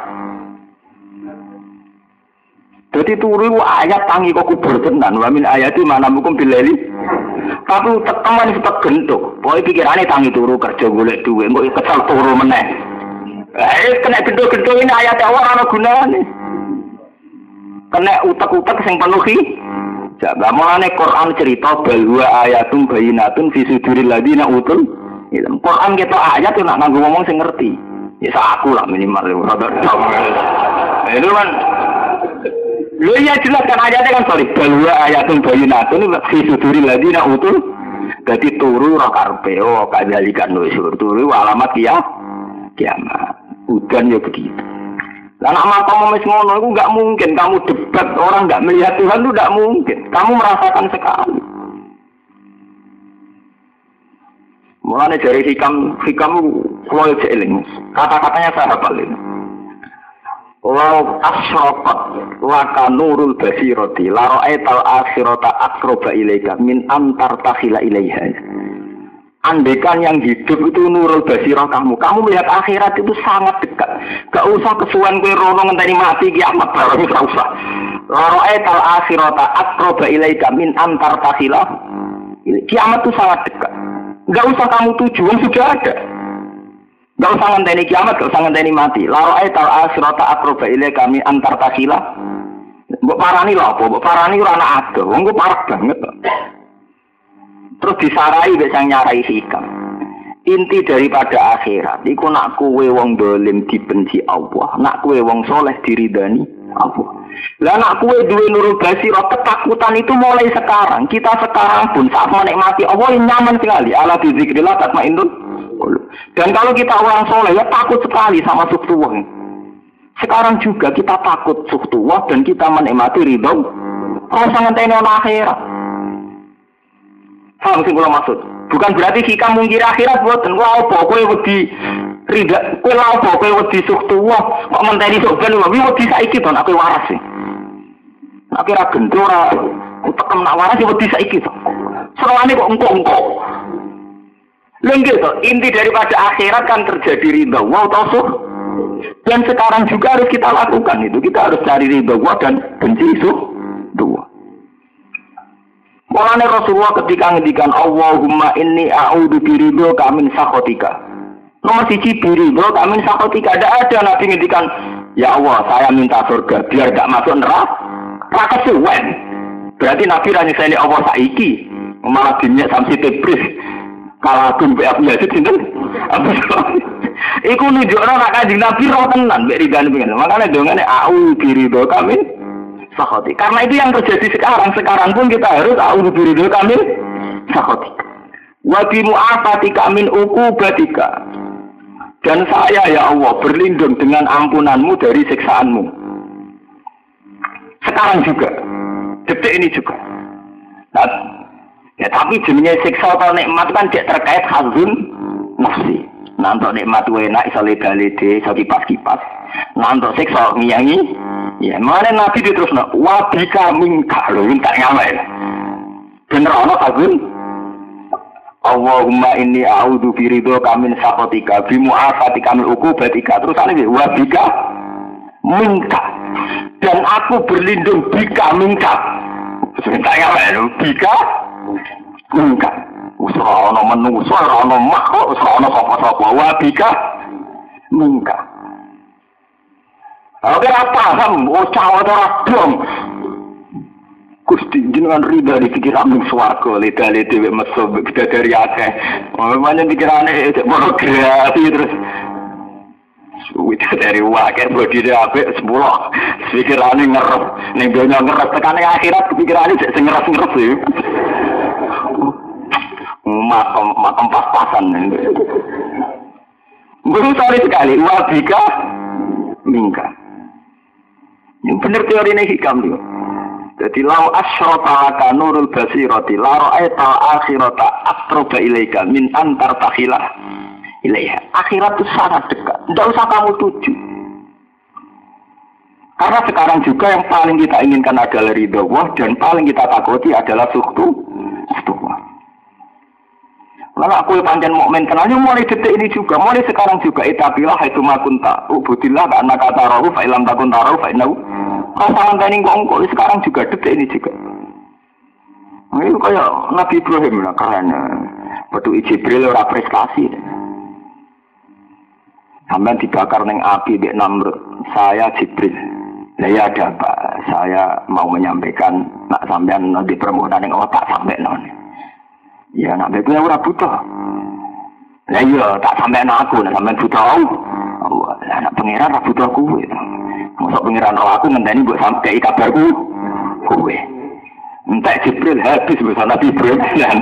Jadi turu ayat tangi kok kubur tenan. Wa min ayati mana mukum bilali. Tapi teman itu gentuk. Pokoke pikirane tangi turu kerja golek dhuwit, kok kesal turu meneh. Kena gentuk-gentuk ini ayat Allah ana gunane. Kena utek-utek sing penuh iki. Jaba mulane Quran cerita bahwa ayatum bayinatun fi suduril ladina utul ilm. Quran kita ayat yo nak nganggo ngomong sing ngerti. Ya aku lah minimal rada. Itu kan lu ya jelas kan ayatnya kan sorry bahwa ayatun bayinatun fi suduril ladina utul. Jadi turu ra karepe kadzalikan nusyur turu alamat kiamat. Udan ya begitu. Lah nek makamu wis ngono iku enggak mungkin kamu debat orang enggak melihat Tuhan itu enggak mungkin. Kamu merasakan sekali. Mulane dari hikam kulo eling. Kata-katanya saya hafal ini. Lau asyraqat laka nurul basirati la ra'aital akhirata aqraba ilaika min antar takhila ilaiha. Andaikan yang hidup itu nurul basirah kamu melihat akhirat itu sangat dekat. Gak usah kesuwen kowe rono ngenteni mati kiamat bareng gak usah. La ra'aital akhirata aqraba ilaika min antar takhila. Kiamat itu sangat dekat. Gak usah kamu tuju, sudah ada. Gak usah ngenteni kiamat, gak usah ngenteni mati. La ra'aital akhirata aqraba ilaika min antar takhila. Mbok parani lho apa? Mbok parani ora ana ado. Wong ku parah banget. Terus disarai wis sang nyarai hikam. Inti daripada akhirat iku nak kowe wong dolim dibenci Allah, nak kowe wong soleh diridani Apa? Lah anak kue duwe nurul basirah, ketakutan itu mulai sekarang. Kita sekarang pun saat menikmati Allah yang nyaman sekali. Ala bizikrillah tatmainnul qulub. Dan kalau kita orang soleh ya takut sekali sama sukhtuwah. Sekarang juga kita takut sukhtuwah dan kita menikmati ridho. Rasa ngenteni ana akhirat. Paham sing kula maksud? Bukan berarti kita mungkir akhirat boten. Wah apa kowe wedi ridha, kowe lha apa kowe wedi sukhtuwah kok ngenteni sok ben wae wedi saiki to nek kowe waras sih. Nek ora gendho ora tekem nak waras wedi saiki to. Serwane kok engko-engko. Lengge to, inti daripada akhirat kan terjadi ridha wa tasuk. Dan sekarang juga harus kita lakukan itu. Kita harus cari ridha wa dan benci sukhtuwah. Mulane Rasulullah ketika ngendikan Allahumma inni a'udzu biridhoka min sakhatika. Nomor 1 biridhoka min sakhatika. Tidak ada Nabi ngendikan, ya Allah, saya minta surga biar gak masuk neraka. Raka suwen. Berarti Nabi ra nyeseni Allah saiki. Malah dinnya samsi tebris. Kalau aku mbek Abu Yazid sinten? Iku nunjukno nek Kanjeng Nabi roh tenan mbek ridane pengen. Makane dongane a'udzu biridhoka min sakhati. Karena itu yang terjadi sekarang. Sekarang pun kita harus a'udzu biridhoka min sakhati. Wa bi mu'afatika min uqubatika. Dan saya ya Allah berlindung dengan ampunanmu dari siksaanmu. Sekarang juga. Detik ini juga. Nah, ya tapi jenenge siksa atau nikmat kan tidak terkait hazun nafsi. Nantok nikmat enak iso leda-lede, iso kipas-kipas. Nantok siksa ngiyangi. Ya, mana Nabi diterusno, wa bika minka lho, minta ngamal. Bener ana kagum. Allahumma inni a'udzu biridhoka min sakhatika bi mu'afatika min uqubatika. Terus ana wa bika minka. Dan aku berlindung bika minka. Minta ngamal bika minka. Usra ana manusa, ora ana makhluk, usra ana sapa-sapa. Wa bika minka. Oke apa paham, cawa ora dong. Gusti jenengan ridha di pikiranmu swarga, leda-lede wek meso bidadari akeh. Mamane pikirane pornografi terus. Bidadari akeh bodine apik 10. Pikirane ngerep, ning donya ngerep tekane akhirat pikirane sik sing ngerep-ngerep iki. Makom pas-pasan. Guru sekali, wabika mingka. Yang benar teori ini hikam dia. Jadi lau asyrata laka nurul basirati la ra'aita akhirata aqraba ilaika min antar takhilah ilaiha. Akhirat itu sangat dekat. Tidak usah kamu tuju. Karena sekarang juga yang paling kita inginkan adalah ridha Allah dan paling kita takuti adalah sukhtuwah. Lalu aku panjang mukmin kenalnya mulai detik ini juga, mulai sekarang juga itabilah itu makunta, ubudillah karena kata rohu fa'ilam takun taruh fa'inau. Pasangan tani ngongkol sekarang juga detik ini juga. Nah, itu kayak Nabi Ibrahim lah karena batu Jibril ora prestasi. Sampai dibakar neng api di Namrud. Saya Jibril. Nah ya ada apa? Saya mau menyampaikan nak sampean di permohonan yang tak sampai non. Ya nak beku ora butuh. Lah iya tak sampean aku nak sampean butuh. Allah, lah nak pangeran ora butuh kowe. Mosok pangeran aku ngenteni mbok sampai kabarku kowe. Entek Jibril habis bersama Nabi Ibrahim.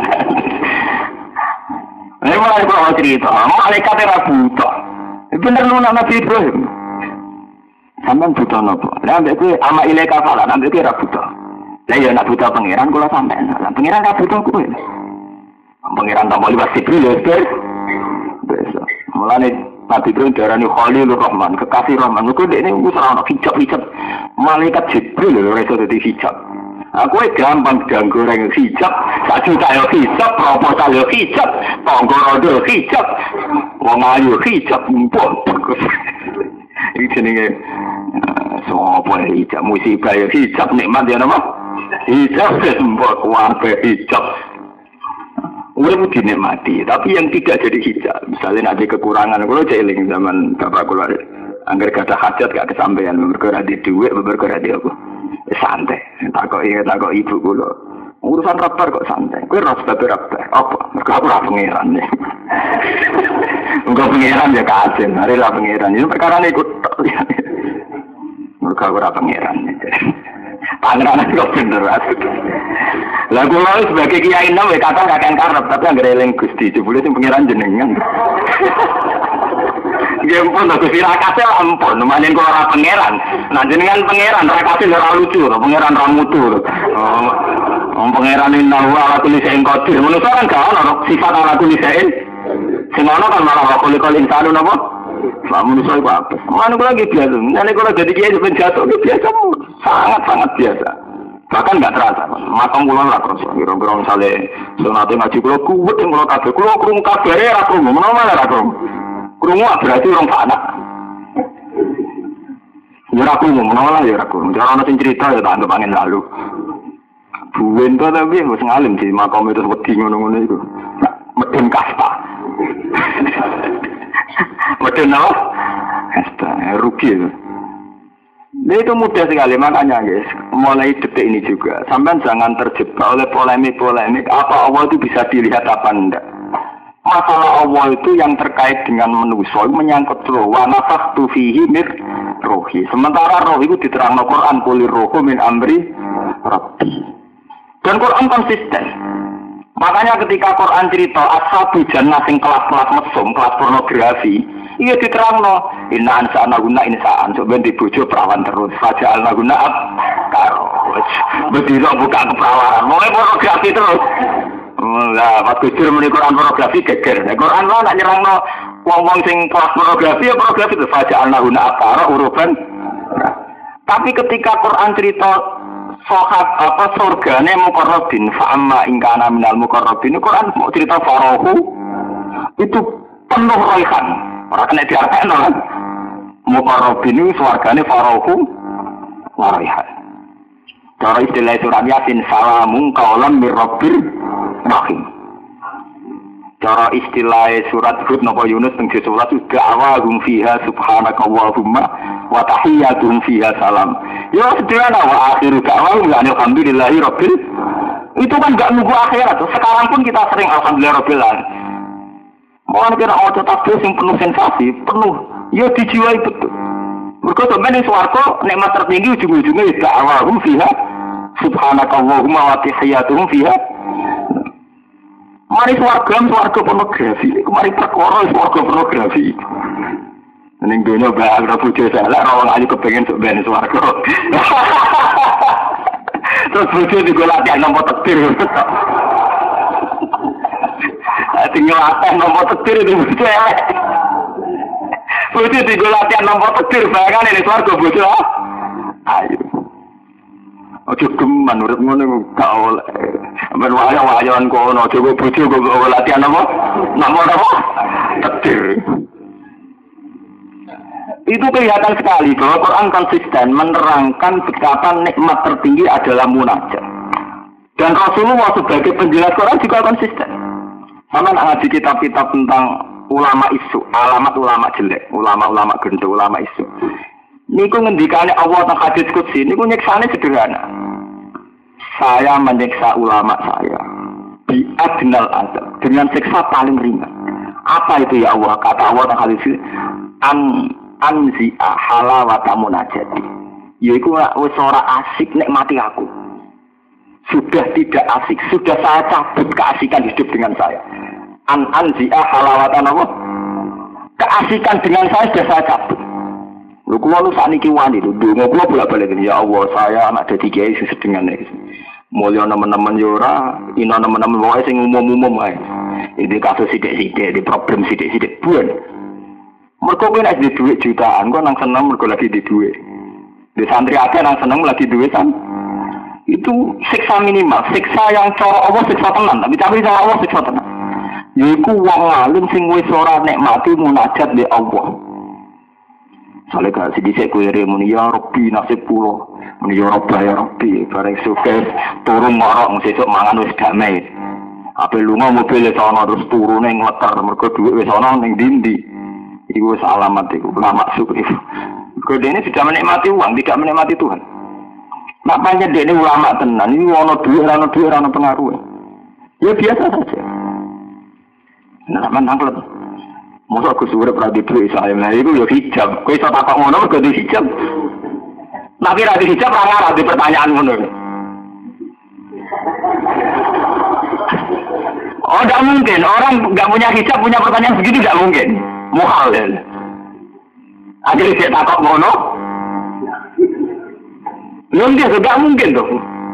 Ini mulai bawa cerita, malaikat ora butuh. Bener nuna Nabi Ibrahim. Sampeyan butuh napa? Lah mbek kowe ama ilaika fala, mbek kowe ora butuh. Lah ya nak butuh pangeran kula sampean. Lah pangeran ora butuh kowe. Pangeran tambah liwat Jibril ya, biasa. Mulane Nabi Ibrahim darani Khalilur Rahman, kekasih Rahman. Kok dekne wis ora ono hijab-hijab. Malaikat Jibril lho ora iso dadi hijab. Aku gampang ganggu orang hijab, 1 juta yo hijab, proposal yo hijab, tonggo hijab, wong ayu hijab, mumpun. Iki jenenge sapa hijab musibah yo hijab nikmat ya napa? Hijab mbok kuwabe hijab. Urip dinikmati, tapi yang tidak jadi hijab. Misalnya ada kekurangan, kalau jeling zaman bapak kula anggar kata hajat gak kesampaian, berkara di duit, berkara di apa? Santai. Takok ibu kula. Urusan rapar kok santai. Kowe ora sebab apa? Mergo aku ora pangeran. Engko pangeran ya kajen, are la pangeran. Itu perkara niku. Mereka ora pangeran. Pangeran kok bener aku. Lah kula sebagai kiai nom ya kata kakek karep tapi anggere eling Gusti jebule sing pangeran jenengan. Nggih pun Gusti rakase ampun, manen kula ora pangeran. Nah jenengan pangeran rakase ora lucu, pangeran ra mutu. Oh, pangeran inna wa ala kulli syai'in qadir. Manusa kan gak ono sifat ala kulli syai'in. Sing ono kan malah wa kulli insanu napa? Lah manusa iku apa? Mana kula lagi biasa. Nek kula jadi kiai ben jatuh biasa, sangat biasa. Bahkan nggak terasa, makam kula ora terasa. Kira-kira misale sunate ngaji kula kuwet sing kula kabeh, kula krungu kabare ra krungu, menawa ra krungu. Krungu berarti orang panak. Ya ra krungu, menawa ya ra krungu. Ora ana sing cerita ya tak anggap angin lalu. Buwen to tapi wis ngalim di makam itu wedi ngono-ngono iku. Medun kasta. Medun apa? Kasta, rugi itu. Nah, itu mudah sekali, makanya guys, mulai detik ini juga, sampai jangan terjebak oleh polemik-polemik, apa Allah itu bisa dilihat apa enggak. Masalah Allah itu yang terkait dengan manusia, menyangkut roh, wa nafakhtu fihi mir rohi. Sementara roh itu diterangno Quran, kulir rohu min amri rabbi. Dan Quran konsisten. Makanya ketika Quran cerita ashabu jannah sing kelas-kelas mesum, kelas pornografi, iya diterangno inna ansa'na guna insa'an, sok ben dibojo perawan terus, faja'alna guna karo. Bedino buka keperawanan, mulai pornografi terus. Lah, pas kudur muni Quran pornografi geger. Nek Quran lah nak nyerangno wong-wong sing kelas pornografi ya pornografi itu faja'alna guna karo uruban. Tapi ketika Quran cerita sohat apa surgane muqarrabin fa amma in kana minal muqarrabin Quran mau cerita farahu itu penuh raihan ora kena diartekno kan muqarrabin surgane farahu raihan cara istilah surat yasin salamun qaulan mir rabbil rahim cara istilah surat Hud napa Yunus teng 11 da'awahum fiha subhanakallahumma wa tahiyyatuhum fiha salam. Ya sederhana wa akhiru da'wahum alhamdulillahi rabbil. Itu kan enggak nunggu akhirat. Sekarang pun kita sering alhamdulillah rabbil alamin. Mau kira auto tasbih sing penuh sensasi, penuh ya dijiwai betul. Mergo sampeyan ning swarga nikmat tertinggi ujung-ujungnya da'awahum fiha subhanakallahumma wa tahiyyatuhum fiha. Mari swarga pornografi, mari perkara swarga pornografi. Ning donya bae ora bojo salah, ora ayu kepengin sok ben swarga. Terus bojo digolaki nomor takdir. Tinggal atas nomor takdir itu bojo elek. Bojo digolaki nomor takdir bayangane ning swarga bojo. Ayo. Ojo geman urip ngono gak oleh. Ben wayang-wayangan kono aja kok bojo kok latihan apa? Nomor apa? Takdir. Itu kelihatan sekali bahwa Quran konsisten menerangkan betapa nikmat tertinggi adalah munajat. Dan Rasulullah sebagai penjelas Quran juga konsisten. Sama ngaji kitab-kitab tentang ulama isu, alamat ulama jelek, ulama-ulama gendho, ulama isu. Niku ngendikane Allah teng hadis qudsi niku nyiksane sederhana. Saya menyiksa ulama saya bi adnal azab dengan siksa paling ringan. Apa itu ya Allah? Kata Allah teng hadis anzi'a halawata munajati. Yaiku wis ora asik nikmati aku. Sudah tidak asik, sudah saya cabut keasikan hidup dengan saya. Anzi'a halawata apa? Keasikan dengan saya sudah saya cabut. Lho kula lu sakniki wani lho, ndonga kula bolak-balik ya Allah, saya anak dadi kiai sedengan iki. Mulya nemen-nemen yo ora, ina nemen-nemen wae sing umum-umum wae. Iki kasus sithik-sithik, di problem sithik-sithik buan. Mergo kowe nek duwe dhuwit jutaan, kok nang seneng mergo lagi di dhuwit. Di santri akeh nang seneng lagi duwe san. Itu siksa minimal, siksa yang cara Allah siksa tenan, tapi cara Allah siksa tenan. Yaiku wong alim sing wis ora nikmati munajat be Allah. Soale gak sedhisik kowe muni ya Rabbi nasib kula, muni ya Rabbi bareng sukses turun marang sesuk mangan wis damai. Ape lunga mobil sono terus turune ngleter mergo dhuwit wis ana ning ndi-ndi. Iku wis alamat iku ulama syukur. Mergo dene sudah menikmati uang, tidak menikmati Tuhan. Makanya dene ulama tenan iki ana dhuwit ora ana pengaruh. Ya biasa saja. Nah, menanglet. Masa aku suwe pra di dhuwit saya. Nah, iku ya hijab. Kowe iso takok ngono mergo di hijab. Tapi ra hijab ra ngarah di pertanyaan ngono. Oh, tidak mungkin. Orang nggak punya hijab punya pertanyaan begitu tidak mungkin. Muhal ya. Akhirnya dia takut ngono. Nggak, tidak mungkin tuh.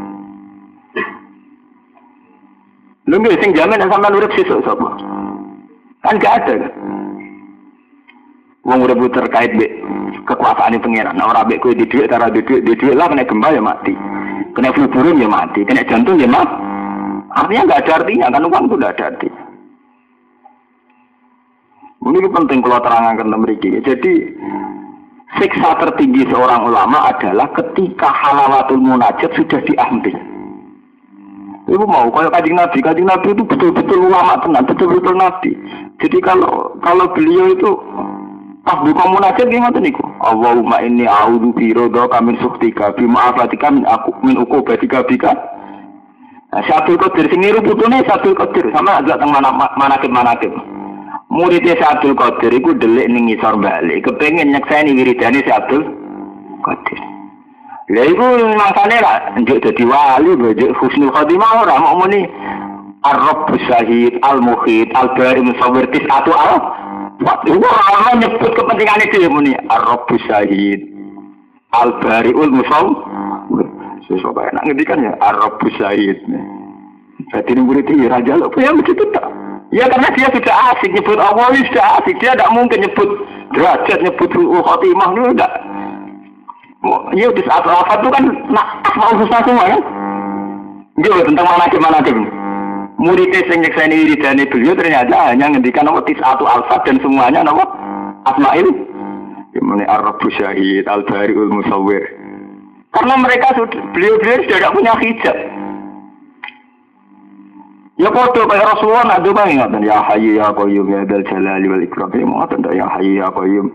Nggak, sing jamin sampean urip sesuk sapa? Kan gak ada. Wong urip terkait be kekuasaan pengiran. Nah, ora mbek kowe di dhuwit, ora di dhuwit lah kena gempa ya mati. Kena flu burung ya mati, kena jantung ya mati. Artinya nggak ada artinya, kan uang itu nggak ada artinya. Ini penting kalau terangkan memiliki. Jadi siksa tertinggi seorang ulama adalah ketika halawatul munajat sudah diambil. Ibu mau kalau kajian Nabi itu betul-betul ulama tenang, betul-betul Nabi. Jadi kalau beliau itu pas buka munajat gimana niku? Allahumma inni a'udzu biridhaka min sukhtika bi ma'afatika min uqubatika bika. Syabdul Qadir sing niru putune Syabdul Qadir sama agak teng manakib. Muridé Syabdul Qadir iku delik ning ngisor balik, kepengin nyekseni wiridane Syabdul Qadir. Lha iku mangsane ra njuk dadi wali, njuk husnul khotimah ora mau muni Ar-Rabbus Syahid, Al-Muhit, Al-Bari Musawwir Tis'atu ora nyebut kepentingane dhewe muni Ar-Rabbus Syahid, Al-Bari'ul Musawwir. Sesuatu enak ngendikan ya Ar-Rabbus Syahid. Jadi murid ini raja lo, ya begitu tak? Ya karena dia sudah asik nyebut Allah, sudah asik. Dia tidak mungkin nyebut derajat, nyebut khotimah itu enggak. Ya di saat al-Fatihah itu kan asmaul husna semua kan? Dia tentang manakib. Muridnya sing nyekseni wiridane beliau ternyata hanya ngendikan nama tis'atu al-Fat dan semuanya nama asmaul. Yang Ar-Rabbus Syahid, Al-Bari'ul Musawwir. Karena mereka beliau sudah tidak punya hijab. Ya foto kayak Rasulullah nak doa ingat ya Hayyu ya Qayyum ya Dzal Jalali wal Ikram. Ya Hayyu ya Qayyum.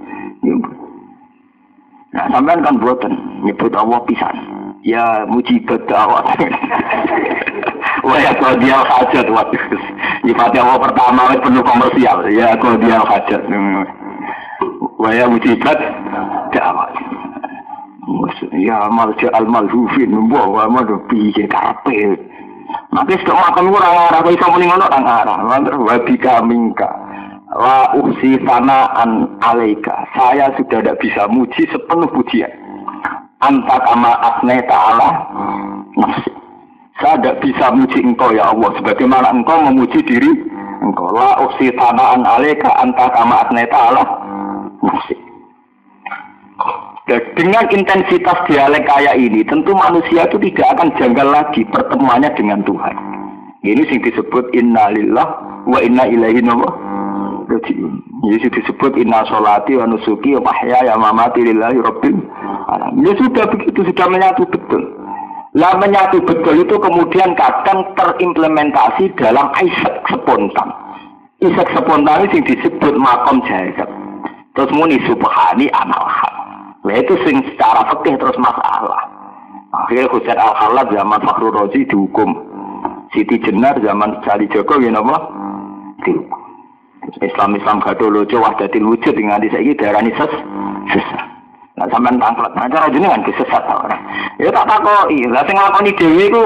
Nah, sampean kan buatan nyebut Allah pisan. Ya mujibat da'wat. Wah ya qadiyal hajat waduh. Ibadah Allah pertama penuh komersial. Ya qadiyal hajat. Wah ya mujibat da'wat. Ya malja al-malhufin membawa madu piye karepe. Maka sik makan ora ora kok iso muni ngono ora ngarah. Mantar wabika mingka. La uksi sanaan alaika. Saya sudah tidak bisa muji sepenuh pujian. Anta kama asna ta'ala nafsi. Saya tidak bisa muji engkau ya Allah sebagaimana engkau memuji diri engkau. La uksi sanaan alaika anta kama asna ta'ala nafsi. Dengan intensitas dialek kayak ini, tentu manusia itu tidak akan janggal lagi pertemuannya dengan Tuhan. Ini yang disebut inna lillah wa inna ilaihi raji'un. Ini disebut inna sholati wa nusuki wa mahyaya wa mamati lillahi rabbil alamin. Ya sudah begitu, sudah menyatu betul. Lah menyatu betul itu kemudian kadang terimplementasi dalam isak spontan. Isak spontan ini disebut makom jahizat. Terus muni subhani analhaq. Nah itu sing secara fikih terus masalah. Akhirnya Husain Al-Khalad zaman Fakhrul Razi dihukum. Siti Jenar zaman Sali Joko ya napa? Dihukum. Islam gadolojo wahdatil wujud dengan saiki darani sesat. Nah sampean tangklet, nah cara jenengan kesesat ta ora? Ya tak takoki, lah sing nglakoni dhewe iku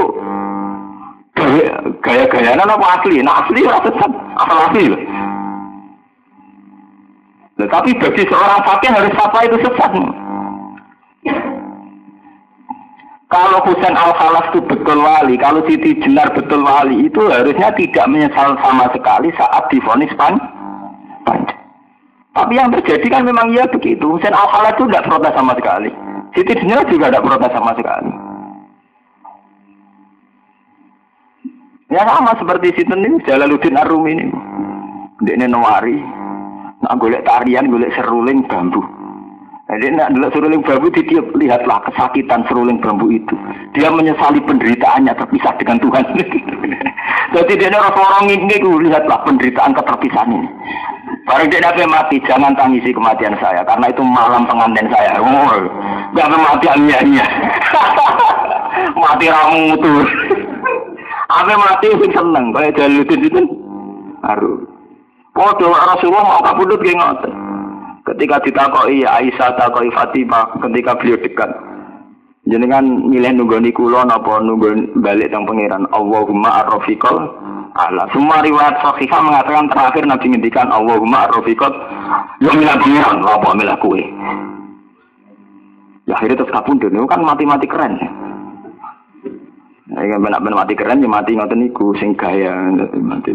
gaya-gayane apa asli? Nah asli ora sesat, asal asli lho. Tapi bagi seorang fakih harus apa itu sesat. Kalau Husain Al-Khalas itu betul wali, kalau Siti Jenar betul wali, itu harusnya tidak menyesal sama sekali saat divonis panjang. Tapi yang terjadi kan memang ya begitu. Husain Al-Khalas itu tidak protes sama sekali. Siti Jenar juga tidak protes sama sekali. Ya sama seperti Sinten ini, Jalaluddin Ar-Rumi ini. Dia nawari, nak golek tarian, golek seruling bambu. Jadi nak dulu seruling bambu ditiup, lihatlah kesakitan seruling bambu itu. Dia menyesali penderitaannya terpisah dengan Tuhan. Jadi dia orang ini, lihatlah penderitaan keterpisahan ini. Baru dia nabi mati, jangan tangisi kematian saya, karena itu malam pengantin saya. Jangan mati almiahnya. Mati ramutur. Apa mati itu seneng, kayak Jalaluddin itu. Haru. Podo Rasulullah mau kabudut kayak ngotot. Ketika ditakoi Aisyah, takoi Fatimah, ketika beliau dekat, Jenengan milih nunggoni kula napa nunggu balik teng pangeran Allahumma ar-rafiqal ala. Semua riwayat sahihah mengatakan terakhir Nabi ngendikan Allahumma ar-rafiqal yo milih pangeran apa milih kowe. Ya akhirnya terus kapundhut niku kan mati-mati keren. Nek ben mati keren ya mati ngoten niku sing gaya mati.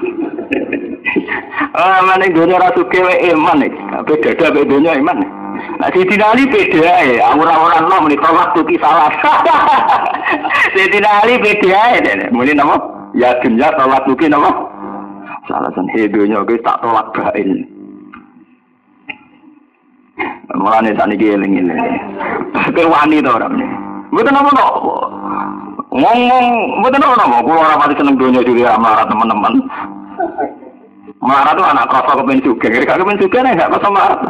Mane dunya ra sugih wae iman iki. Ape dadah wae dunya iman. Nah, Sayyidina Ali beda ya, orang-orang lo menikah waktu kisalah. Sayyidina Ali beda ya, mungkin nama ya dunia tolak mungkin nama salah san hidupnya guys tak tolak bain. Mulane sak niki eling-eling. Ke wani to orang ini. Mboten apa no. Ngomong mboten apa kulo ora pati seneng dunia juri amarat teman-teman. Marah tuh anak kroso kepen juga, kira kepen juga nih nggak kroso marah.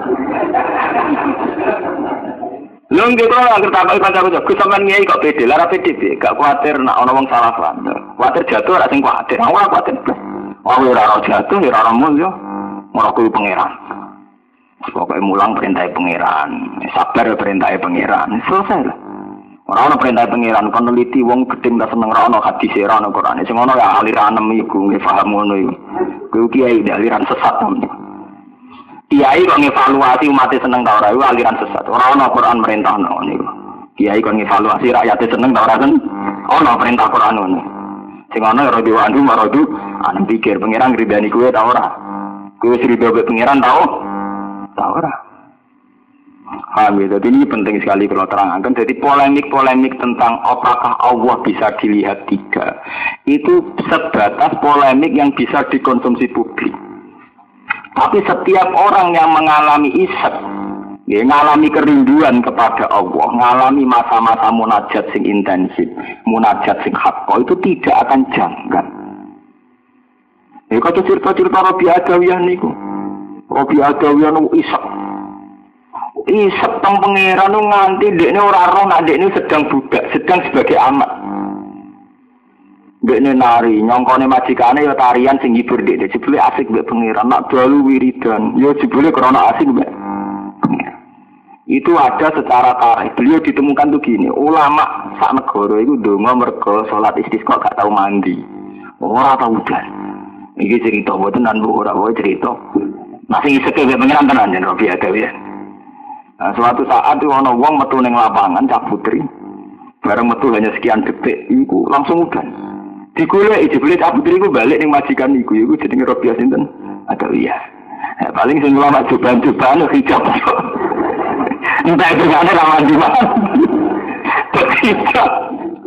Lu nggak kalau nggak tertarik pada aku, kesamaan nyai kok pede, lara pede, gak khawatir nak orang salah paham, khawatir jatuh, rasa khawatir, aku khawatir, aku rara jatuh, rara muncul, mau aku pangeran, pokoknya mulang perintah pangeran, sabar perintah pangeran, selesai lah. Orang perintah pangeran kon neliti wong gedhe ndak seneng ra ono hadis ra ono Quran. Sing ono ya aliran iku nggih paham ngono iku. Kuwi kiai aliran sesat. Kiai kok ngevaluasi umat seneng ta ora iku aliran sesat. Ora ono Quran merintah ngono niku. Kiai kok ngevaluasi rakyat seneng ta ora kan ono perintah Quran ngono. Sing ono ya rada andu maradu ana pikir pangeran ngridani kuwe ta ora. Kuwi wis rido pangeran ta ora. Jadi ini penting sekali kalau terangkan. Jadi polemik-polemik tentang apakah Allah bisa dilihat tiga itu sebatas polemik yang bisa dikonsumsi publik. Tapi setiap orang yang mengalami isyak, ya, mengalami kerinduan kepada Allah, mengalami masa-masa munajat sing intensif, munajat sing hakko itu tidak akan janggal. Ya kata cerita-cerita Rabi Adawiyah niku, Rabi Adawiyah niku isyak. Isep teng pangeran nu nganti dekne ora roh nek dekne sedang budak, sedang sebagai amat. Dekne nari, nyongkone majikane ya tarian sing hibur dekne, jebule asik mbek pangeran, nak dalu wiridan, ya jebule krana asik mbek pangeran. Itu ada secara tarikh. Beliau ditemukan tuh gini, ulama sak negara iku ndonga mergo salat istisqa gak tau mandi. Ora tau udan. Iki cerita mboten nan Bu ora wae cerita. Nah sing isek mbek pangeran tenan yen Rabi Adawiyah. Nah, suatu saat itu ana wong metu ning lapangan Cak Putri. Bareng metu hanya sekian detik iku langsung udan. Digoleki jebule Cak Putri iku balik ning majikan iku jenenge Rabiah sinten? Adawiyah. Nah, paling sing ulama coban-coban hijab. Entah itu ana lawan di mana. Hijab.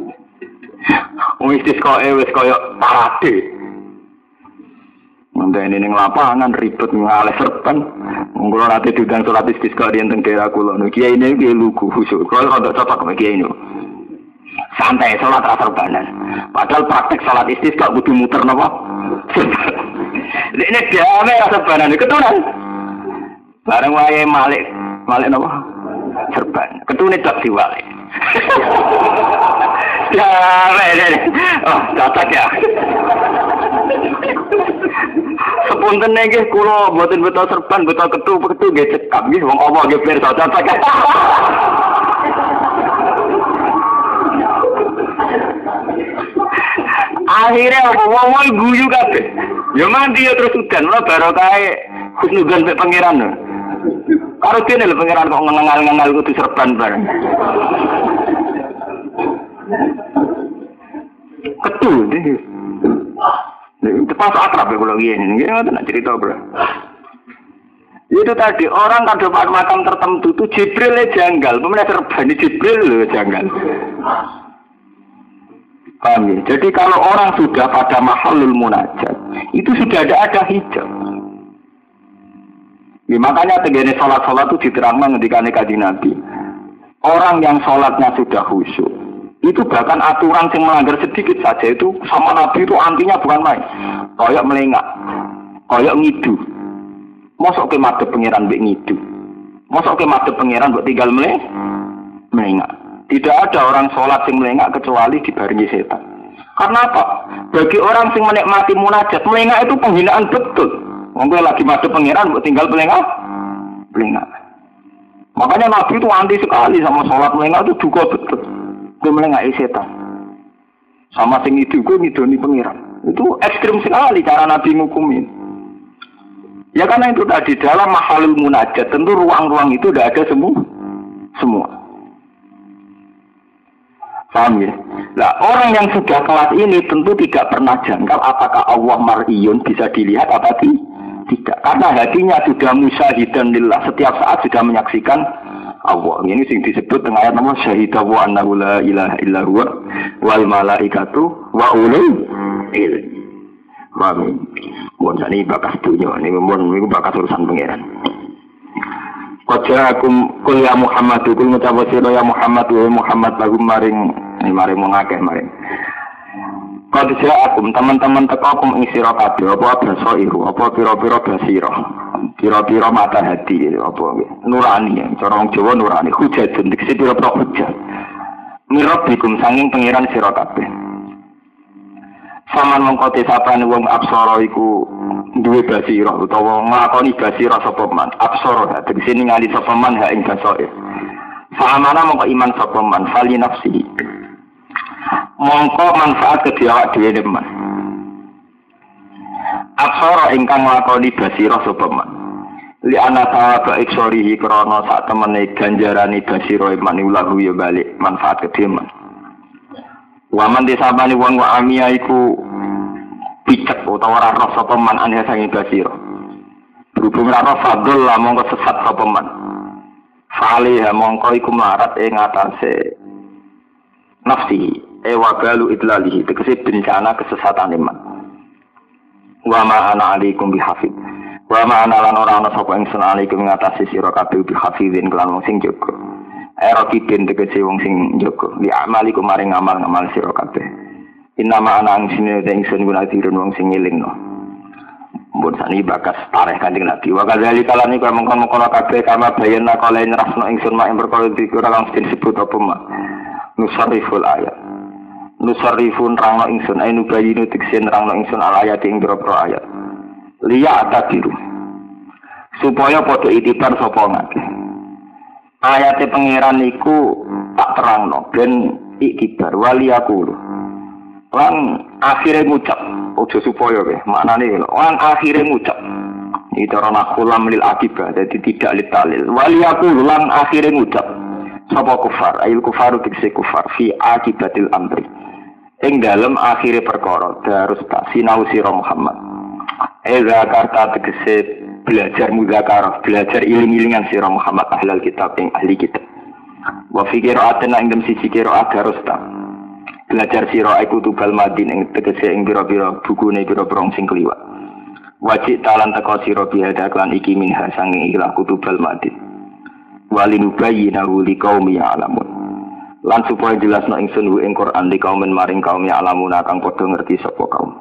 Wis wis koyo parade. Mantene ning lapangan ribet ngalih serban. Monggo ate diundang salat istisqa di teng daerah kula. Kiai ini ki lugu khusyuk. Kalau ndak cocok sama kiai ini. Santai salat ra serbanan. Padahal praktek salat istisqa kudu muter napa? Dekne gawe ra serbanan ketunan. Bareng wae malik napa? Serban. Ketune tak diwale. Ya, oh, cocok ya. Sepunten nggih kula mboten beto serban, beto ketu nggih cekap nggih wong apa nggih pirsa cocok. Akhirnya wong guyu kabeh. Ya mandi ya terus udan, lha barokahe husnudzon mek pangeran. Karo dene lho pangeran kok ngengal-ngengal kudu serban bareng. Ketu nggih. Itu pas akrab ya kalau gini, nggak nak cerita bro. Itu tadi orang kan dapat makam tertentu tuh Jibril janggal, pemenang serban Jibril loh janggal. Paham ya? Jadi kalau orang sudah pada mahalul munajat, itu sudah ada hijab. Ya, makanya tegene sholat itu diterangkan ketika Kanjeng Nabi. Orang yang sholatnya sudah khusyuk, itu bahkan aturan yang melanggar sedikit saja itu sama Nabi itu antinya bukan main. Koyok melengak, koyok ngidu. Mosok ke madhep pangeran mbek ngidu. Mosok ke madhep pangeran mbok tinggal melengak. Tidak ada orang sholat yang melengak kecuali dibarengi setan. Karena apa? Bagi orang yang menikmati munajat, melengak itu penghinaan betul. Monggo lagi madhep pangeran mbok tinggal melengak. Makanya Nabi itu anti sekali sama sholat melengah itu juga betul. Dia melengah setan. Sama sing itu gue ngidoni pengiran. Itu ekstrim sekali cara Nabi ngukumin. Ya karena itu tadi dalam mahalul munajat tentu ruang-ruang itu tidak ada semua. Paham ya? Nah, orang yang sudah kelas ini tentu tidak pernah jangkal apakah Allah mar'iyun bisa dilihat apa tidak. Karena hatinya sudah musyahidan lillah, setiap saat sudah menyaksikan Allah. Ini sing disebut dengan ayat nama syahidahu annahu la ilaha illa huwa wal malaikatu wa ulul ilmi. Paham? Mun jane bakas dunya niku mun bakas urusan pangeran. Qajakum kul ya Muhammad kul ngucap sira ya Muhammad wa Muhammad lagu maring mengakeh maring. Qajakum teman-teman tekakum ing sira kabeh apa basairu apa pira-pira basira. Pira-pira mata hati apa nurani cara wong Jawa nurani hujatun dikse pira-pira hujat. Mirabbikum sanging pangeran sira kabeh. Saman mengkote sapane wong absara iku duwe basira utawa nglakoni basira sapa man absara tegese ningali sapa man ha ing basair samana mongko iman sapa man fali nafsi mongko manfaat kedhe awak dhewe man absara ingkang nglakoni basira sapa man li ana tawaba iksorihi krana sak temene ganjarane basira man ulahu ya balik manfaat kedhe man waman disabani wong wa amia iku picek utawa ora roh sapa man ane sange basira. Berhubung ora roh fadl lah mongko sesat sapa man. Fa'aliha mongko iku mlarat ing atase nafsi wagalu idlalihi tegese bencana kesesatan man. Wa ma ana alaikum bihafid. Wa ma ana lan ora ana sapa ingsun alaikum ing atase sira kabeh bihafidin kelan wong sing jaga. Rakibin tegese wong sing jaga. Li amalikum maring amal-amal sira kabeh. Inama anang sini ingsun gunatirun wong sing ngelingno. Mbon sani bakas tareh Kanjeng Nabi. Wa kadzali kalani kaya mengkon-mengkon kabeh kama bayana kala nerasno ingsun mak ing perkara dikira kang disebut apa mak. Nusarriful ayat. Nusarrifun rangno ingsun ainu bayinu tiksen rangno ingsun al ayat ing boro ayat. Liya atadiru. Supaya padha itibar sapa ngakeh. Ayate pangeran iku tak terangno ben iktibar waliyaku. Lan akhire ngucap ojo supaya kowe maknane lan akhire ngucap iki cara nakulam lil akibah dadi tidak litalil waliyaku lan akhire ngucap sapa kufar ayil kufaru tikse kufar fi akibatil amri ing dalem akhire perkara darus tak sinau sira Muhammad zakarta tegese belajar muzakarah belajar iling-ilingan sira Muhammad ahlul kitab ing ahli kitab wa fi qira'atin ing dem siji qira'at darus tak belajar sira iku tubal madin ing tegese ing pira-pira bukune pira-pira sing kliwat wajib talan teko sira biada klan iki minha sanging ikhlas kutubal madin walin bayyinahu liqaumi ya'lamun lan supaya jelasno ingsun ing Quran liqaumen maring kaum ya'lamun kang padha ngerti sapa kaum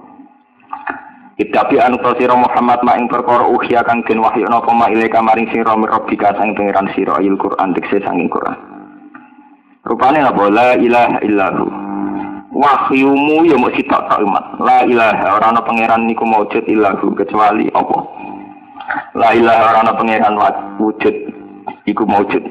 Itapi anu sira Muhammad ma ing perkara ukhya kang den wahyu napa ma ilaika maring sira rabbika sang pangeran sira ayil Quran tegese sanging Quran rupane apa la ilaha illallah wahyumu ya mesti tak umat la ilaha ora ana pangeran niku maujud illahu kecuali Allah la ilaha ora ana pangeran wujud iku maujud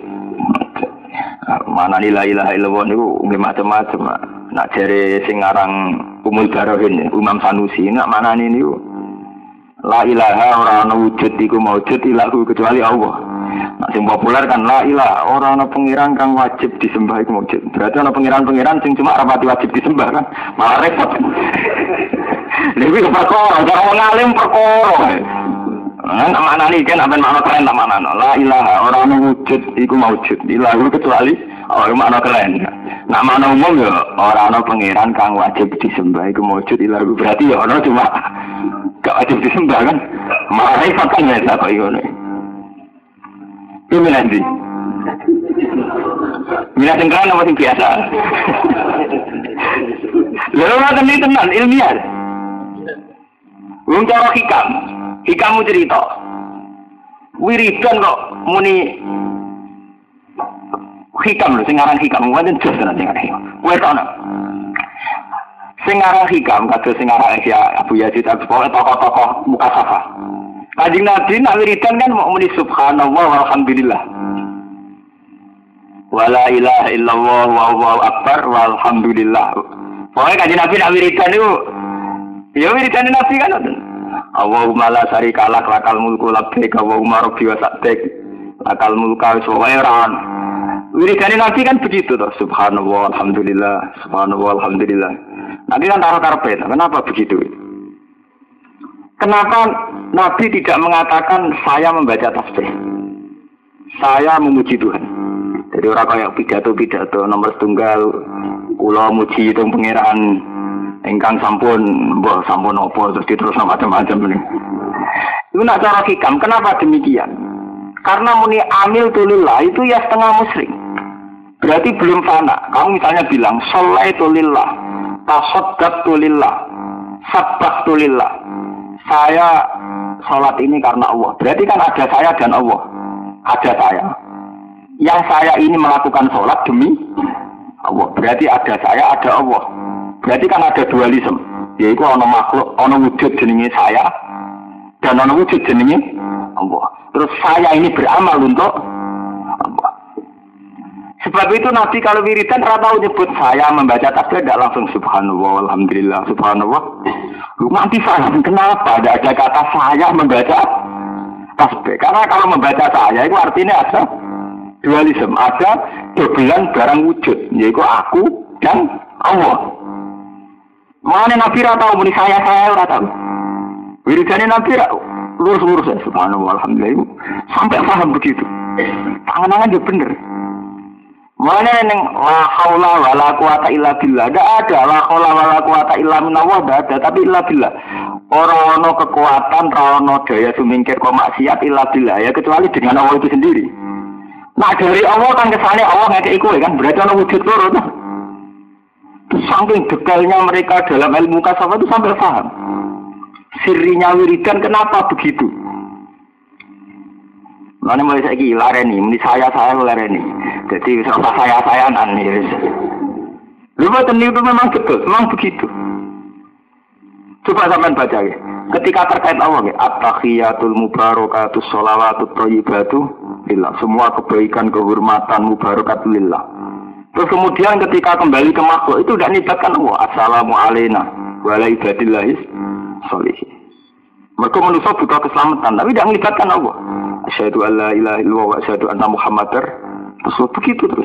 mana la ilaha illallah niku nggih macam-macam nak jare sing aran Umul Barohin Imam Sanusi nak manane niku la ilaha ora ana wujud iku maujud illahu kecuali Allah. Nah, sing populer kan la ilaha ora ana pangeran kang wajib disembah iku maujud. Berarti ana pangeran-pangeran sing cuma ora wajib disembah kan. Malah repot. Lha iki perkara cara wong alim perkara. Nah, maknane kan aben makna keren ta maknane. La ilaha ora ana wujud iku maujud. Ilahu kecuali ora makna keren. Nak makna umum ya ora ana pangeran kang wajib disembah iku maujud ilahu berarti ya ana cuma gak wajib disembah kan. Malah repot kan ya kok ngono. Ini nanti. Mina sengkran apa sing biasa? Lalu nanti ini tenan ilmiah. Wong cara hikamu cerita. Wiridan kok muni hikam lho, sing aran hikam wonten jos tenan sing aran hikam. Kowe ana. Sing aran hikam kados sing aran Abu Yazid Al-Bustami tokoh-tokoh mukasafah. Kanjeng Nabi nak wiridan kan mau muni subhanallah walhamdulillah. Wala ilaha illallah wallahu akbar walhamdulillah. Pokoknya kanjeng Nabi nak wiridan itu, ya wiridan Nabi kan ngoten. Allahumma la syarika lak lakal mulku labbaik Allahumma rabbi wa sa'dik lakal mulka wa syawairan. Wiridan Nabi kan begitu toh. Subhanallah alhamdulillah, subhanallah alhamdulillah. Nanti kan taruh karpet. Kenapa begitu? Kenapa Nabi tidak mengatakan saya membaca tasbih? Saya memuji Tuhan. Jadi orang kayak pidato nomor setunggal, kula muji itu pangeran ingkang sampun, mbah sampun apa terus diterus macam-macam ini. Itu nak cara hikam. Kenapa demikian? Karena muni amil tulillah itu ya setengah musyrik. Berarti belum fana. Kamu misalnya bilang sholaitu lillah, tasaddaqtu lillah, sabbahtu lillah. Saya sholat ini karena Allah. Berarti kan ada saya dan Allah. Ada saya. Yang saya ini melakukan sholat demi Allah. Berarti ada saya, ada Allah. Berarti kan ada dualisme. Yaitu ada makhluk, ada wujud jenenge saya, dan ada wujud jenenge Allah. Terus saya ini beramal untuk Allah. Sebab itu Nabi kalau wiridan rata nyebut saya membaca tasbih tidak langsung subhanallah, alhamdulillah, subhanallah. Nanti paham kenapa tidak ada kata saya membaca tasbih. Karena kalau membaca saya itu artinya ada dualisme, ada dobelan barang wujud, yaitu aku dan Allah. Mana Nabi rata muni saya rata. Wiridannya Nabi lurus ya subhanallah, alhamdulillah. Sampai paham begitu. Tangan-tangan dia bener. Mana neng la haula wala quwata illa billah. Enggak ada la haula wala quwata illa minallah, enggak ada, tapi illa billah. Ora ono kekuatan, ora ono daya sumingkir kok maksiat illa billah ya kecuali dengan Allah itu sendiri. Nah dari Allah kan kesane Allah ngekeki kowe kan berarti ono wujud loro tuh. Saking detailnya mereka dalam ilmu kasawat itu sampai paham. Sirinya wiridan kenapa begitu? Mana mulai saya lareni, ini saya lareni. Jadi saya-sayaan nih. Lupa itu memang betul, memang begitu. Coba sampean baca ya. Ketika terkait Allah ya, at-tahiyatul mubarakatus sholawatut thayyibatu lillah. Semua kebaikan, kehormatan, mubarakat lillah. Terus kemudian ketika kembali ke makhluk itu tidak melibatkan Allah. Assalamu alayna wa ala ibadillahis sholihin. Mereka manusia butuh keselamatan, tapi tidak melibatkan Allah. Asyhadu an la ilaha illallah wa asyhadu anna Muhammadar Rasul. Begitu terus.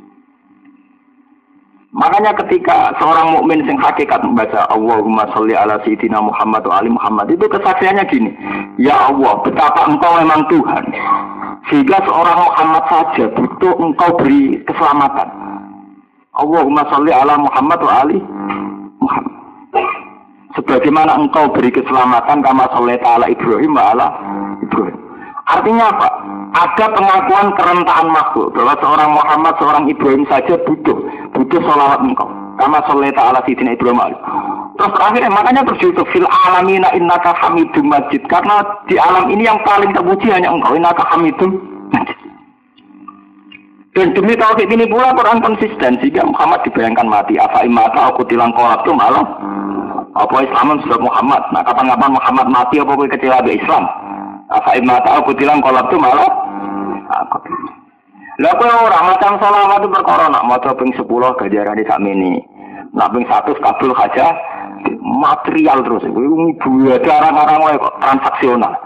Makanya ketika seorang mukmin sing hakikat membaca Allahumma sholli ala sayyidina Muhammad wa ali Muhammad itu kesaksiannya gini, ya Allah, betapa engkau memang Tuhan. Sehingga seorang Muhammad saja butuh engkau beri keselamatan. Allahumma sholli ala Muhammad wa ali Muhammad. Sebagaimana engkau beri keselamatan kama shollaita ala Ibrahim wa ala Ibrahim. Artinya apa? Ada pengakuan kerentaan makhluk bahwa seorang Muhammad, seorang Ibrahim saja butuh sholawat engkau. Kama shollaita ala sayyidina Ibrahim wa ali. Terus terakhir makanya berjudul fil alamina innaka hamidum majid, karena di alam ini yang paling terpuji hanya engkau, innaka hamidum majid. Dan demi tauhid ini pula Quran konsisten sehingga Muhammad dibayangkan mati. Afa imata aku tilang kolab itu malah apa Islam sudah Muhammad. Nah kapan-kapan Muhammad mati apa kowe kecewa be Islam? Afa imata aku tilang kolab itu malah aku. Lah kowe ora macam selawat itu perkara nak maca ping 10 ganjarane sakmene. Nak ping 100 kabul aja material terus. Iku cara-cara wae kok transaksional.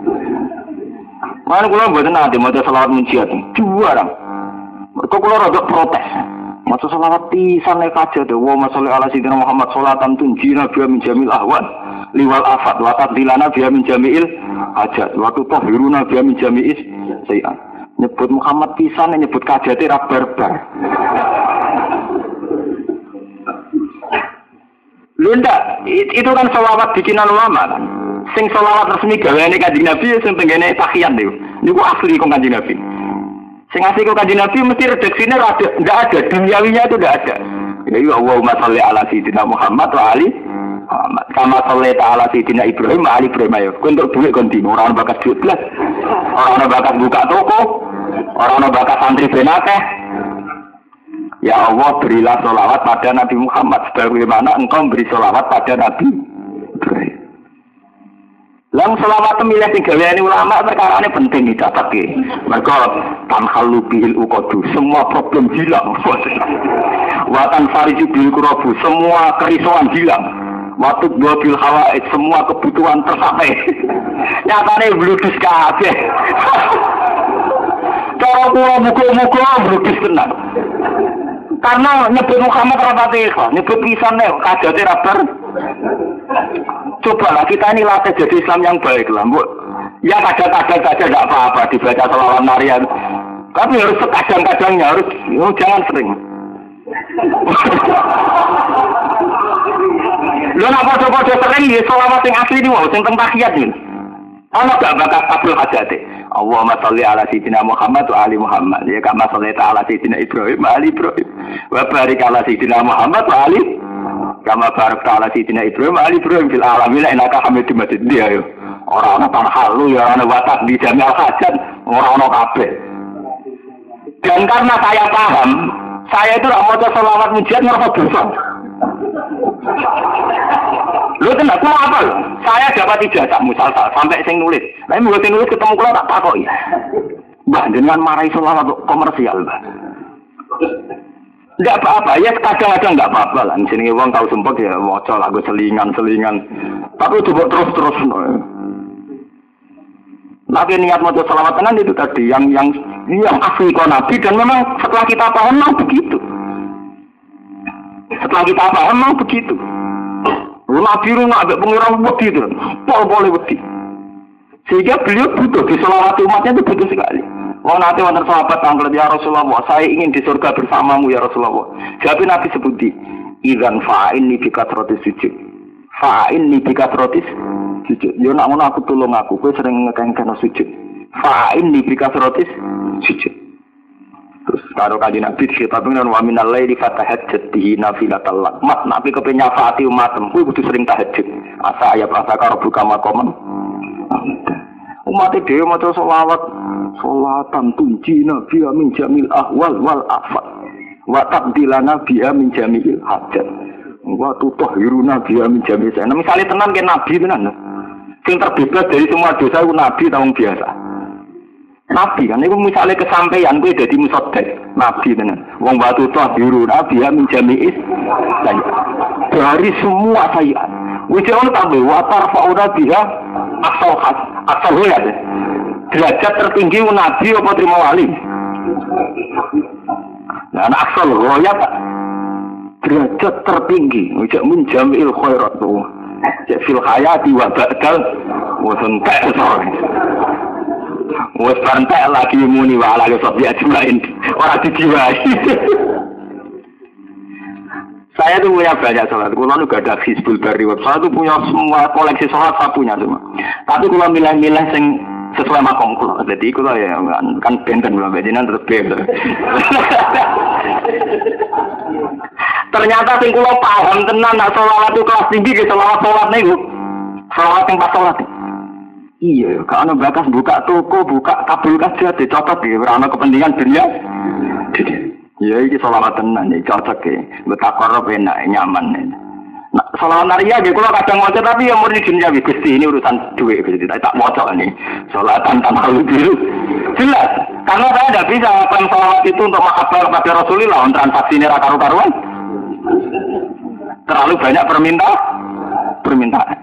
Mana kula mboten nate maca selawat munjiat. Juara. Kok kula rada protes. Maca selawat pisan nek aja to. Wa masalli ala sayyidina Muhammad sholatan tunjina biya min jamil ahwal liwal afat wa tadlilana biya min jamil hajat wa tutahhiruna biya min jami'is sayiat. Nyebut Muhammad pisan nyebut kajate ra barbar. Lunda, itu kan selawat bikinan ulama kan. Sing selawat resmi gaweane Kanjeng Nabi sing tenggene tahiyat niku. Niku asli kok Kanjeng Nabi. Sing asli kok Kanjeng Nabi mesti redaksine enggak ada, duniawinya itu enggak ada. Ya Allahumma sholli ala sayyidina Muhammad wa ali Muhammad. Kama shollaita ala sayyidina Ibrahim wa ali Ibrahim ya. Untuk duit ganti ora ono bakat duit blas. Ora ono bakat buka toko. Ora ono bakat santri benakeh. Ya Allah, berilah sholawat pada Nabi Muhammad sebagaimana engkau beri sholawat pada Nabi Ibrahim. Lang selawat milih sing gaweane ulama perkarane penting dicatatke. Mergo tanhalu bil uqadu, semua problem hilang. Watan fariju bil kurabu, semua kerisauan hilang. Waktu bil hawaid, semua kebutuhan tercapai. Nyatane bludus kabeh. Cara kula muga-muga bludus tenan. Karena nyebut Muhammad rapati ikhlas, nyebut pisannya kajate rabar. Cobalah kita ini latih jadi Islam yang baik lah, Bu. Ya kadang-kadang saja tidak apa-apa dibaca selawat narian. Tapi harus sekadang-kadangnya, harus jangan sering. Lu nak podo-podo sering ya selawat yang asli ini mau, yang tahiyat ini. Ana gak bakal kabul hajate. Allahumma sholli ala sayyidina Muhammad wa ali Muhammad. Ya kama shallaita ala sayyidina Ibrahim wa ali Ibrahim. Wa barik ala sayyidina Muhammad wa ali kama barakta ala sayyidina Ibrahim wa ali Ibrahim fil alamin innaka Hamidum Majid. Dia yo. Ora ana tanhalu ya ana watak di jami'al hajat, ora ana kabeh. Dan karena saya paham, saya itu tidak mau selawat mujiat ngerasa dosa. Lu tenang, aku apa lo? Saya dapat ijazah musalsal sampai sing nulis. Tapi mulai sing nulis ketemu kula tak takoki. Mbah dengan marahi selawat komersial, Mbah. Enggak apa-apa, ya kadang-kadang enggak apa-apa lah. Sini wong tahu sempat ya maca lagu selingan-selingan. Tapi coba terus-terus. Lagi niat maca selawat tenan itu tadi yang asli kok Nabi dan memang setelah kita paham memang begitu. Setelah kita paham memang begitu. Nabi rumah ada pengurang wedi itu, boleh wedi. Sehingga beliau butuh di selawat umatnya itu butuh sekali. Wong nanti wonten sahabat tanglet ya Rasulullah, saya ingin di surga bersamamu ya Rasulullah. Jadi Nabi sebuti, idzan fa'inni bikathratis sujud. Fa'inni bikathratis sujud. Yo nak ngono aku tulung aku, kowe sering ngekengken sujud. Fa'inni bikathratis sujud. Terus karo kanjeng Nabi dikitabkan dengan wa minal laili fatahajjat bihi nafilatal lak. Mat Nabi kepen nyafaati umatem kuwi kudu sering tahajud. Asa ayat asa karo buka makomen. Umat dhewe maca selawat, salatan tunjina bi min jamil ahwal wal afat. Wa tabdilana bi min jamil hajat. Wa tutahhiruna bi min jamil. Nah, misale tenan ke Nabi tenan. Sing terbebas dari semua dosa itu Nabi tahun biasa. Nabi kan itu misalnya kesampaian gue jadi musoddek Nabi tenan. Wong batu toh biru Nabi ya menjami'is dari semua sayiat. Wujud tambah watar fauna dia asal ya derajat tertinggi Nabi apa terima wali. Nah asal roya tak derajat tertinggi wujud menjami'il khairat tuh. Fil hayati wa ba'dal wa suntak wes pantai lagi muni wala ke sobi ajmain orang dijiwai. Saya tuh punya banyak sholat. Kalau nu gak ada Hizbul Bari web, saya tuh punya semua koleksi sholat saya punya semua. Tapi kalau milih-milih sing sesuai makom kulo, jadi kulo ya kan benten belum bejinan terus beda. Ternyata sing kulo paham tenan nak sholat itu kelas tinggi ke sholat nih bu, sholat yang pas sholat. Iya, kalau bakas buka toko, buka kabel kaca, dicotot ya, karena kepentingan dunia. Iya, ini sholawat tenan, ini cocok ya, betakor enak, nyaman. Nah, sholawat naria, kalau kadang wajah tapi yang murni dunia, Gusti ini urusan duit, Gusti tak wajah nih, sholawatan tanpa biru. Jelas, karena saya tidak bisa melakukan sholawat itu untuk mahabbah kepada Rasulullah, untuk transaksi ini karu-karuan. Terlalu banyak permintaan.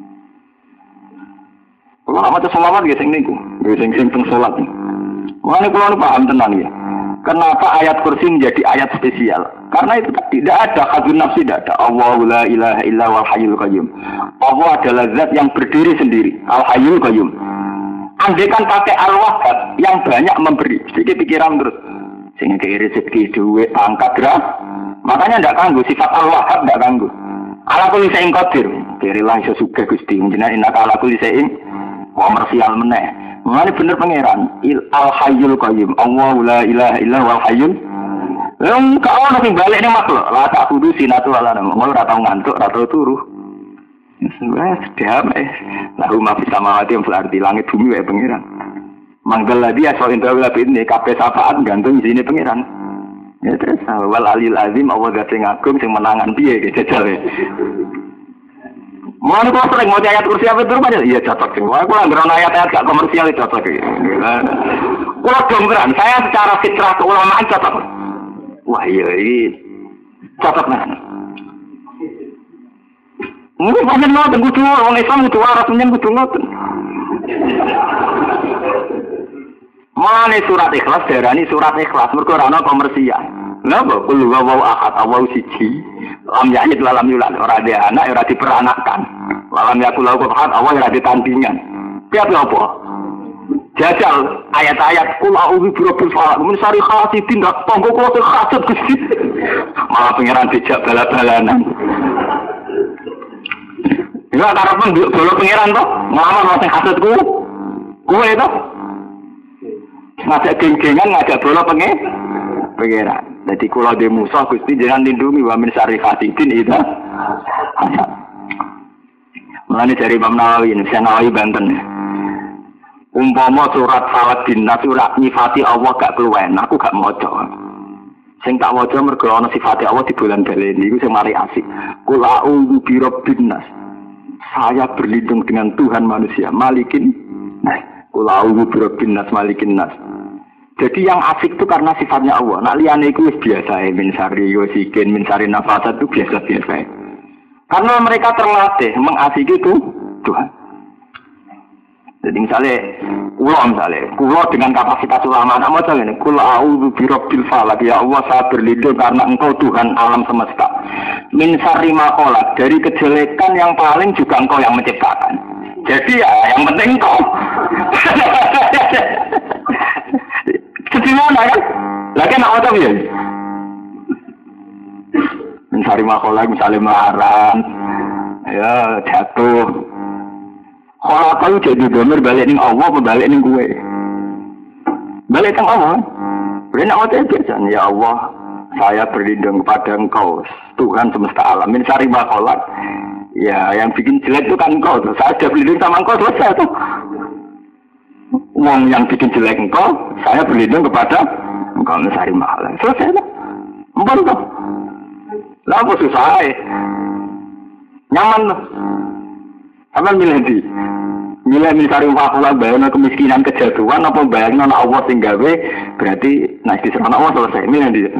Kalau nak baca sholawat ya sing niku, sing sholat. Makanya kalau paham tenan ya. Kenapa ayat kursi menjadi ayat spesial? Karena itu tidak ada hadun nafsi, tidak ada. Allahu la ilaha illa wal hayyul qayyum. Allah adalah zat yang berdiri sendiri, al hayyul qayyum. Andaikan pakai al-wahhab yang banyak memberi, sedikit pikiran terus. Sehingga kaya rezeki, duit, pangkat, gerak. Makanya tidak ganggu, sifat al-wahhab tidak ganggu. Ala kulli syai'in qadir. Kirilah iso sugih Gusti, jenengan innaka ala kulli syai'in komersial meneh. Mengenai bener pangeran al hayyul qayyum. Allahu la ilaha illa wal hayyul. Yang kau nanti balik nih makhluk. Lah tak kudu sinatu ala nama. Mau ratau ngantuk, ratau turu. Sedap Lalu ma bisa mawati yang berarti langit bumi wae pangeran. Manggal lagi asal indah lebih ini kabeh syafaat gantung di sini pangeran. Ya terus wal alil azim Allah gak sing agung sing menangan piye jajal. Mau nih kalau sering mau ayat kursi apa itu aja, iya cocok sih. Wah, kalau nggak ayat-ayat gak komersial itu cocok. Kalau domberan, saya secara fitrah keulamaan cocok. Wah iya ini cocok nih. Mungkin banyak nonton kudu orang Islam kudu waras menyen kudu nonton. Mana surat ikhlas darani surat ikhlas mergo ora ana komersial. Napa kulo wae ahad awal siji. Lam ya'id lalam yulad ora ada anak ora diperanakkan. Lalam yakul ahad awal ora ditandingan. Piye apa? Jajal ayat-ayat kul a'udzu birabbil falaq min syarri hasidin dak tonggo kula sing hasud Gusti. Malah pangeran dijak bala-balanan. Enggak karepen bolo pangeran to, nglamar sing hasudku. Kuwe to. Ngajak geng-gengan ngajak bola pangeran. Jadi kula de musuh Gusti jangan lindungi wa min syarri hasidin itu. Mulane dari Imam Nawawi, Nawawi Banten. Umpama surat Falaq bin Nas surat nyifati Allah gak keluwen, aku gak maca. Sing tak waca mergo ana sifate Allah di bulan baleni iku sing mari asik. Qul a'udzu birabbin nas. Saya berlindung dengan Tuhan manusia, Malikin. Nah, qul a'udzu birabbin nas malikin nas. Jadi yang asik itu karena sifatnya Allah. Nak liyane iku wis biasa min syarri wasikin min syarri nafasat itu biasa-biasa. Karena mereka terlatih mengasiki itu Tuhan. Jadi misalnya kulo dengan kapasitas ulama, nama saya ini, kulo a'udzu birabbil falaq, ya Allah saya berlindung karena Engkau Tuhan alam semesta. Min syarri ma khalaq, dari kejelekan yang paling juga Engkau yang menciptakan. Jadi ya yang penting Engkau. Jadi mana kan? Lagi nak apa ya? Min syarri ma khalaq, misalnya marah, ya jatuh. Kalau kau jadi domir balik ning Allah, balik ning gue. Balik ning Allah. Benar apa biasanya? Ya Allah, saya berlindung kepada Engkau, Tuhan semesta alam. Min syarri ma khalaq. Ya, yang bikin jelek itu kan Engkau. Saya sudah berlindung sama Engkau, selesai tuh. Uang yang bikin jelek Engkau, saya berlindung kepada Engkau. Min syarri ma khalaq. Selesai tuh. Empun tuh. Lah apa susah? Nyaman tuh. Apa milih di? Milih mencari wakula bayangna kemiskinan kejatuhan apa bayangna Allah sing gawe berarti nek diserang Allah selesai. Milih di.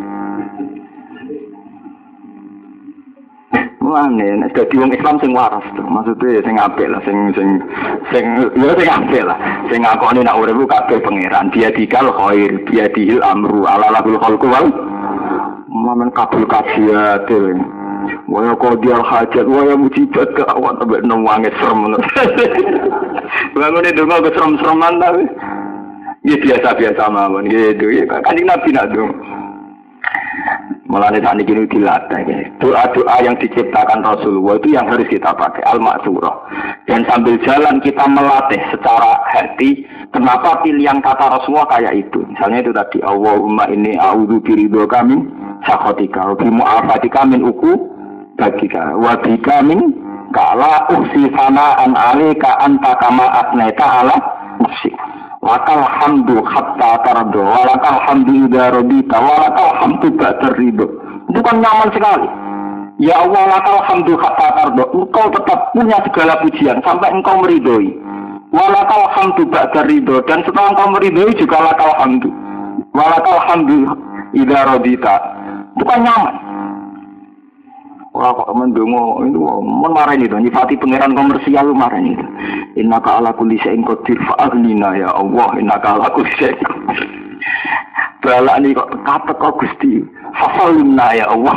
Mulane nek dadi wong Islam sing waras to, maksudnya sing apik lah, sing apik lah. Sing ngakoni nek urip kabeh pangeran, dia dikal khair, dia dihil amru ala lahul khalqu wal mamen kabul kajiat. Waya qadiyal hajat, waya mujibat ke awak tambah nangis serem. Bangune donga ke serem-sereman tapi ya biasa-biasa mawon gitu ya. Kanjeng Nabi nak dong. Mulane sakniki iki dilatih ya. Doa-doa yang diciptakan Rasulullah itu yang harus kita pakai al-ma'surah. Dan sambil jalan kita melatih secara hati kenapa pilihan kata Rasulullah kayak itu. Misalnya itu tadi Allahumma inni a'udzu biridhoka min sakhatika wa bi mu'afatika min bagika wa bika min kala uksi sanaan alika anta kama asnaita ala nafsi lakal hamdu hatta tardo walakal hamdu idha robita walakal hamdu ba'da ridho. Itu kan nyaman sekali. Ya Allah lakal hamdu hatta tardo, engkau tetap punya segala pujian sampai engkau meridhoi. Walakal hamdu ba'da ridho, dan setelah engkau meridhoi juga lakal hamdu walakal hamdu idha robita. Itu kan nyaman. Wah kok mendongo itu marahin itu nyifati pangeran komersial marahin itu. Innaka ala kulli syai'in qadir fa'aghnina ya Allah, innaka ala kulli syai'in qadir. Balak ini kok kata kok Gusti fasalimna ya Allah.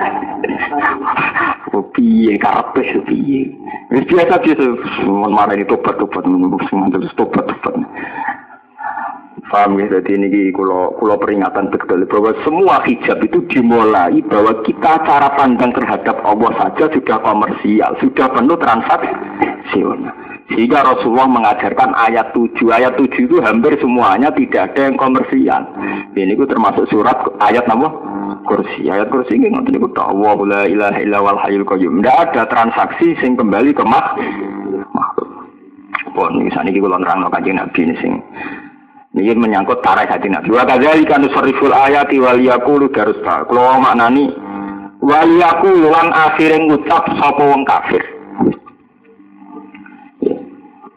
Piye karepe piye. Wis biasa-biasa marahin itu tobat-tobat menunggu semua terus tobat-tobat. Paham ya, jadi ini kalau peringatan betul bahwa semua hijab itu dimulai bahwa kita cara pandang terhadap Allah saja sudah komersial, sudah penuh transaksional. Sehingga Rasulullah mengajarkan ayat 7 itu hampir semuanya tidak ada yang komersial. Ini itu termasuk surat ayat nama kursi. Ayat kursi ini ngerti itu Allah la ilaha illa wal hayyul qayyum. Tidak ada transaksi sing kembali ke makhluk. Pun misalnya kalau nerangno Kanjeng Nabi ini sing ini menyangkut tarikh hati Nabi. Wa kadzalika nusarriful ayati wal yaqulu darusta. Kalau maknani wal yaqulu lan akhire ngucap sapa wong kafir.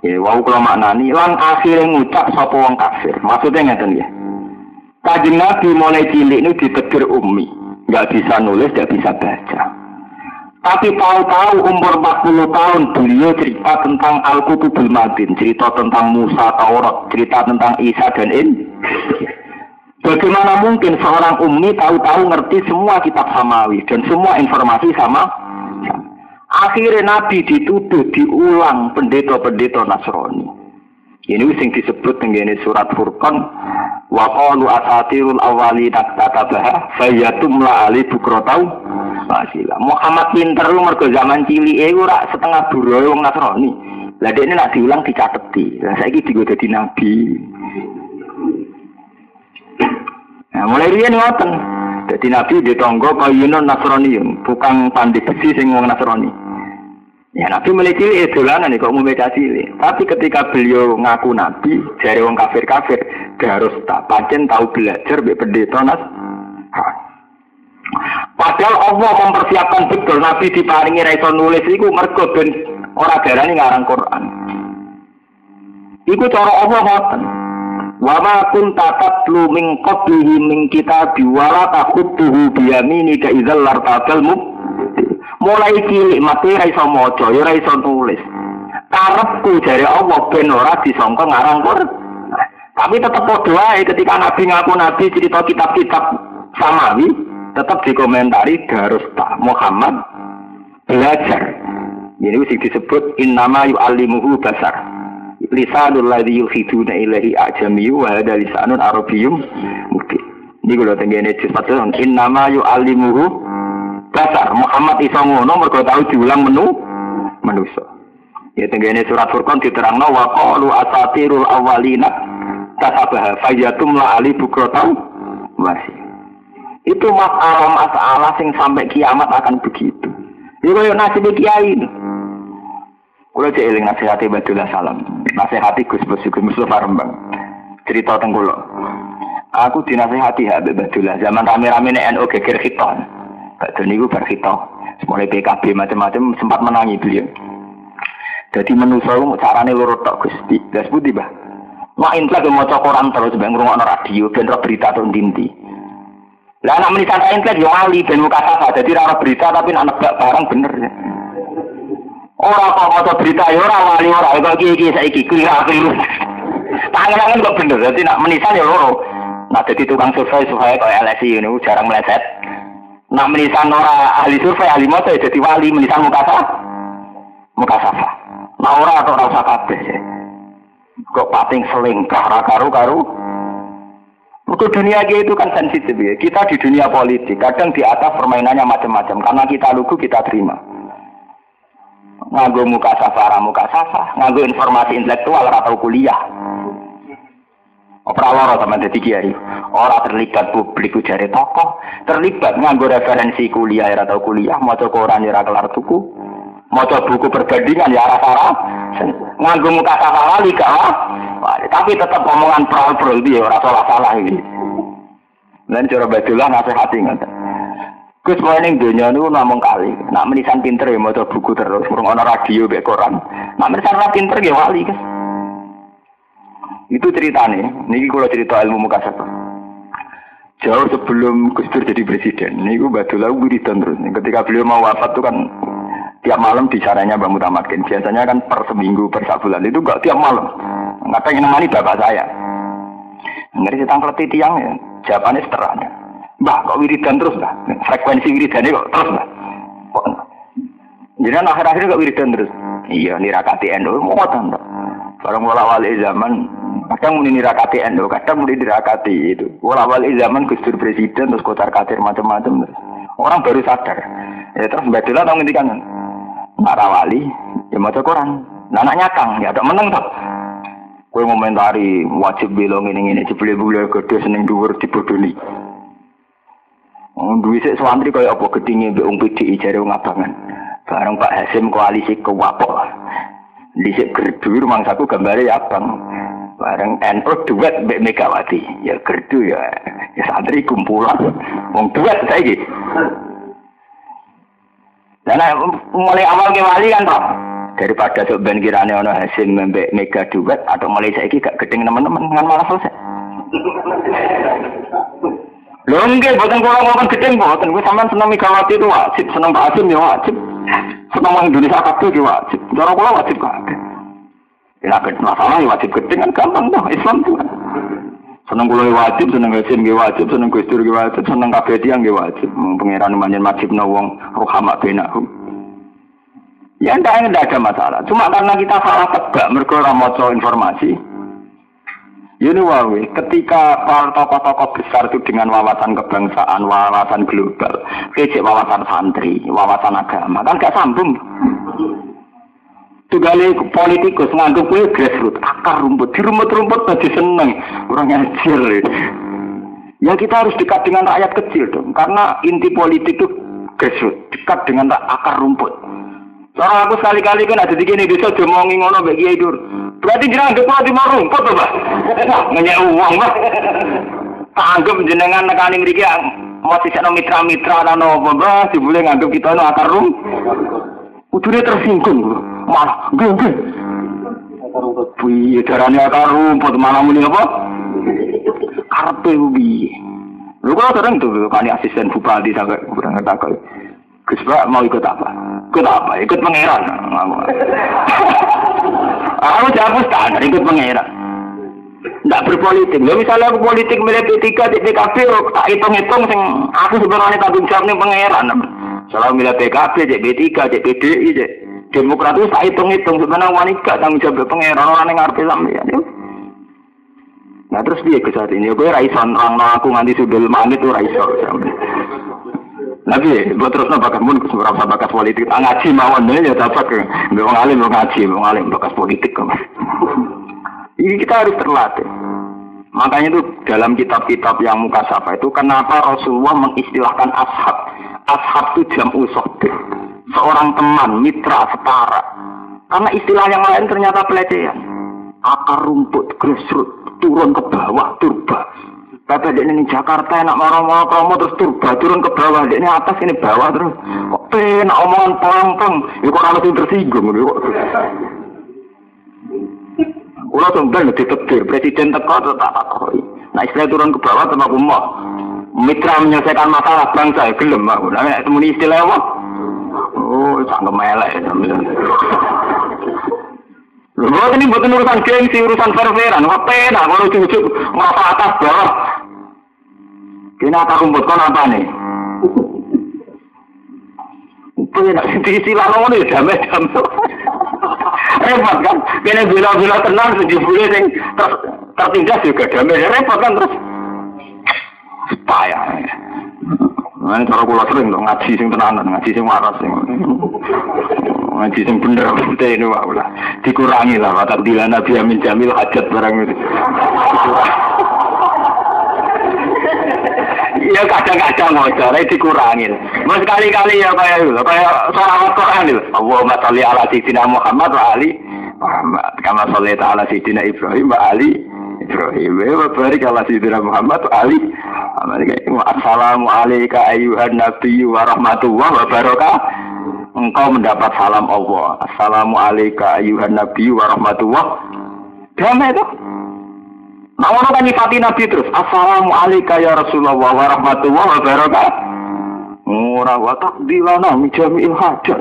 Ya, wau kula maknani lan akhire ngucap sapa wong kafir. Maksudnya ngeten ya. Kanjeng Nabi mulai cilik ini ditegur ummi, enggak bisa nulis, enggak bisa baca. Tapi tahu-tahu umur 40 tahun beliau cerita tentang Al-Qutubul Madin, cerita tentang Musa, Taurat, cerita tentang Isa dan Bagaimana mungkin seorang ummi tahu-tahu ngerti semua kitab samawi dan semua informasi sama? Akhirnya Nabi dituduh diulang pendeta-pendeta Nasrani. Ini sing disebut dengan surat Furqan, wa qalu asatirul awwalina katabaha fayatumla ali bukrotau masila. Muhammad pinter lu mergo zaman cilike ora setengah buruhe wong Nasrani. Lah dekne nek diulang dicateti. Lah saiki digo dadi nabi. Nah, mulai riyen ngoten. Dadi nabi ditonggo kayunan Nasrani, bukan pandai besi sing wong Nasrani. Ya nabi mulai cilik dolanan kok umum beda cilik. Tapi ketika beliau ngaku nabi, dari wong kafir-kafir, harus tak pancen tahu belajar mbek pendeta Padahal Allah mempersiapkan betul nabi diparingi ra iso nulis iku mergo ben ora darani ngarang Quran. Iku cara Allah ngoten. Wa ma kunta tatlu min qablihi min kitabi wa la taqutuhu bi yaminika idzal lartabal mulai cilik mati ra iso maca ya ra iso tulis. Karepku jare Allah ben ora disangka ngarang Quran. Tapi tetap padha wae ketika nabi ngaku nabi cerita kitab-kitab samawi tetap dikomentari harus tak Muhammad belajar. Ini sing disebut innama yu'allimuhu basar. Lisanul ladzi yuhiduna ilaihi ajamiyyu wa hadza lisanun arabiyyum mubin. Niku lho tengene disebut innama yu'allimuhu basar. Muhammad iso ngono mergo tau diulang manusa. Ya tengene surat Furqan diterangno wa qalu asatirul awwalina katabaha fayatumla ali bukrotau masih. Itu masalah sing sampai kiamat akan begitu. Ini kaya nasib kiai. Kulo cek eling nasihati Badullah Salam. Nasihati Gus Mustafa Rembang. Cerita teng kula. Aku dinasihati Habib Badullah zaman rame-rame NU geger khiton. Badhe niku bar khiton. Mulai PKB macam-macam sempat menangi beliau. Jadi manusa carane loro tok Gusti. Lah sepundi, Mbah? Mak intlek maca Quran terus ben ngrungokno radio ben berita tok ndi. Lah anak menisan intelek yo wali ben muka sapa dadi ora berita tapi nak nebak barang bener. Ora kok maca berita yo ora wali ora kok iki saiki keliru. Tangan-tangan kok bener dadi nak menisan yo loro. Nak dadi tukang survei supaya kaya LSI ngono jarang meleset. Nak menisan ora ahli survei ahli maca dadi wali menisan muka sapa. Muka sapa. Nah ora kok ora usah kabeh. Kok pating selingkah ora karo-karo. Untuk dunia itu kan sensitif ya. Kita di dunia politik, kadang di atas permainannya macam-macam. Karena kita lugu, kita terima. Nganggo muka safa, nganggo informasi intelektual atau kuliah. Opera sama jadi kiai. Orang terlibat publik ujar tokoh, terlibat nganggo referensi kuliah atau kuliah, maca koran ya kelar tuku, maca buku perbandingan ya arah-arah. Nganggo muka safa lali gak tapi tetap omongan pro dia ora salah iki. Lan cara Badullah nasihati ngoten. Gus wae ning donya niku namung kali. Nak menisan pinter ya maca buku terus, ngrungokno radio mek koran. Nak menisan ora pinter ya wali, Gus. Itu ceritane. Niki kula cerita ilmu mukasabah. Jauh sebelum Gus Dur jadi presiden, niku Badullah wiridan terus. Ketika beliau mau wafat itu kan tiap malam bicaranya Mbak Mutamakin. Biasanya kan per seminggu, per sabulan itu enggak tiap malam. Enggak pengen nemani bapak saya. Ngeri setang keleti tiang ya. Jawabannya seterahnya. Mbah kok wiridan terus Mbah? Frekuensi wiridannya kok terus Mbah? Jadi akhir-akhir kok wiridan terus? Iya nirakati NU mau tanda. Barang wali zaman kadang muni nirakati NU, kadang muni nirakati itu. Wali zaman Gus Dur presiden terus kocar kacir macam-macam terus. Orang baru sadar. Ya terus Mbak Dila tahu ngendikan. Para wali ya maca Quran. Nah anaknya Kang ya ada meneng toh. Kowe ngomentari wajib belong ngene-ngene jebule-bule gedhe seneng dhuwur dibodoni. Duwe sik santri kaya apa gedhinge mbek wong PDI jare wong abangan. Bareng Pak Hasim koalisi kewapok. Dhisik gerdu rumangsaku gambare ya abang. Bareng NU duet mbek Megawati. Ya gerdu ya santri kumpulan. Wong duet saiki. Lah mulai awal ke wali kan toh. Daripada sok ben kirane ana Hasim mbek Mega duet atau mulai saiki gak gedeng teman-teman kan malah selesai. Lho nggih boten kula ngomong gedeng boten, kuwi sampean seneng Megawati itu wajib, seneng Pak Hasim ya wajib. Seneng wong Indonesia kabeh ki wajib. Cara kula wajib kabeh. Ya nek masalah ya wajib gedeng kan gampang toh Islam tuh. Seneng kula wajib, seneng Hasim ki wajib, seneng Gus Dur ki wajib, seneng kabeh tiyang ki wajib. Pangeran manjen wajibna wong rohama benahum. Ya tidak ada masalah. Cuma karena kita salah tebak mergo ora maca informasi. Ini wae, ketika para tokoh-tokoh besar itu dengan wawasan kebangsaan, wawasan global, kecek wawasan santri, wawasan agama, kan gak sambung. Tugale politikus nganggep kuwi grassroots, akar rumput, di rumput-rumput aja seneng, orang ngajar. Ya kita harus dekat dengan rakyat kecil dong, karena inti politik itu grassroots, dekat dengan akar rumput. Soalnya aku sekali-kali kan ada di gini desa jomongi ngono mbek Kiai Dur. Berarti jenengan ndek di rumput to, Pak. Ngenyek uang, Pak. Anggap jenengan nekani mriki mau sisakno mitra-mitra lan opo, Pak, dibule nganggep kita ono akar rumput. Kudune tersinggung lho. Malah nggih. Akar rumput. Piye darane akar rumput malah muni apa? Karepe piye? Lho kok sering tuh kali asisten bupati sampai kurang takok. Gus Pak mau ikut apa? Ikut apa? Ikut pangeran. Aku jawab standar ikut pangeran. Tidak berpolitik. Ya misalnya aku politik milih P3 di PKB, tak hitung-hitung sing aku sebenarnya tanggung jawab nih pangeran. Selalu milih PKB, di P3, di PDI, di Demokrat itu tak hitung-hitung sebenarnya wanita tanggung jawab pangeran orang yang ngarep sampeyan. Nah terus dia ke saat ini, gue raison orang aku nganti sudul manit tuh raison. Nabi, buat terus bakat mun kesuara bakat politik. Ngaji mawon ya dapat ke. Wong alim ngaji, wong alim bakat politik kan. Ini kita harus terlatih. Makanya itu dalam kitab-kitab yang mukasyafah itu kenapa Rasulullah mengistilahkan ashab. Ashab itu jam'u sohbah. Seorang teman, mitra, setara. Karena istilah yang lain ternyata pelecehan. Akar rumput, grassroots, turun ke bawah, turba. Bapak ini Jakarta enak marah-marah kamu terus turba turun ke bawah, ini atas ini bawah terus. Kok penak omongan pang-pang, ya kok harus tersinggung. Ulah sampeyan ditetir presiden teko tak takoki. Nah istilah turun ke bawah sama aku mau mitra menyelesaikan masalah bangsa gelem aku. Lah nek temuni istilah apa? Oh, sangat melek sampeyan. Lho ini bukan urusan gengsi, urusan fair-fairan. Kok penak kalau cucuk ngapa atas bawah. Kena tak rumput kon apa nih? Penak istilah ngono ya damai-damai. Repot kan? Kene bila-bila tenang sejebule sing tertindas juga damai. Repot kan terus. Payah. Nah, cara kula sering dong ngaji sing tenanan, ngaji sing waras sing. Ngaji sing bener putih ini wae lah. Dikurangi lah watak dilan Nabi Amin Jamil hajat barang itu. Ya kadang-kadang ngocor dikurangi. Mas kali-kali ya kayak sholawat Quran itu. Allahumma sholli ala sayyidina Muhammad wa ali Muhammad. Kama shallaita ala sayyidina Ibrahim wa ali Ibrahim. Wa barik ala sayyidina Muhammad wa ali Assalamu alayka ayyuhan nabiyyu wa rahmatullahi wa barakatuh. Engkau mendapat salam Allah. Assalamu alayka ayyuhan nabiyyu wa rahmatullahi. Damai itu. Nah orang kan nyifati Nabi terus. Assalamu alayka ya Rasulullah wa rahmatullahi wa barakatuh. Ora wa taqdilana min jami'il hajat.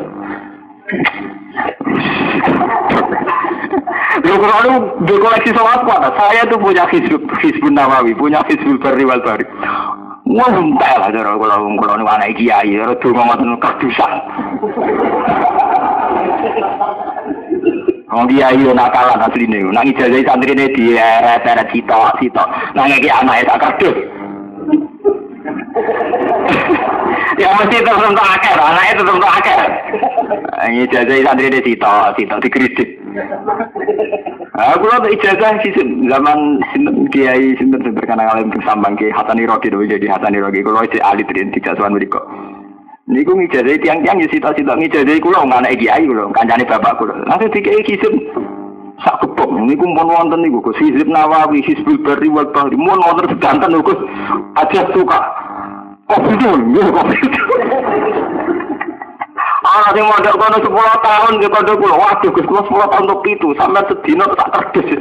Kalau di koleksi sholat kuat, saya tuh punya Hizbun Nawawi, punya Hizbul Barri wal Bari. Wah, entar lah kalau ini anak kiai, kalau dulu ngomong kardusan. Orang kiai itu nakalan asli nih, nang ijazah santri ini di eret cita, nang kiai anak tak kardus. Ya mesti tertentu akeh, anaknya tertentu akeh. Ijazah santri ini cita dikritik. Aku lah ijazah sih zaman kiai sinten berkenal alim bersambang ke Hasan Iroki dulu jadi Hasan Iroki. Kalau itu ahli tidak soal mereka. Niku ngijazah tiang-tiang ya cita-cita ngijazah kulo nggak anak kiai kulo, kancane bapak kulo. Langsung dikiai kisim sak kepok. Niku pun wonten niku Gus Hizib Nawawi, Hizbul Barri wal Bahri, mun wonten sedanten Gus aja suka. Oh betul, ya kok betul. Ana sing mondok kono 10 tahun ke kono kula. Waduh Gus kula 10 tahun untuk itu sampai sedina tak terdes.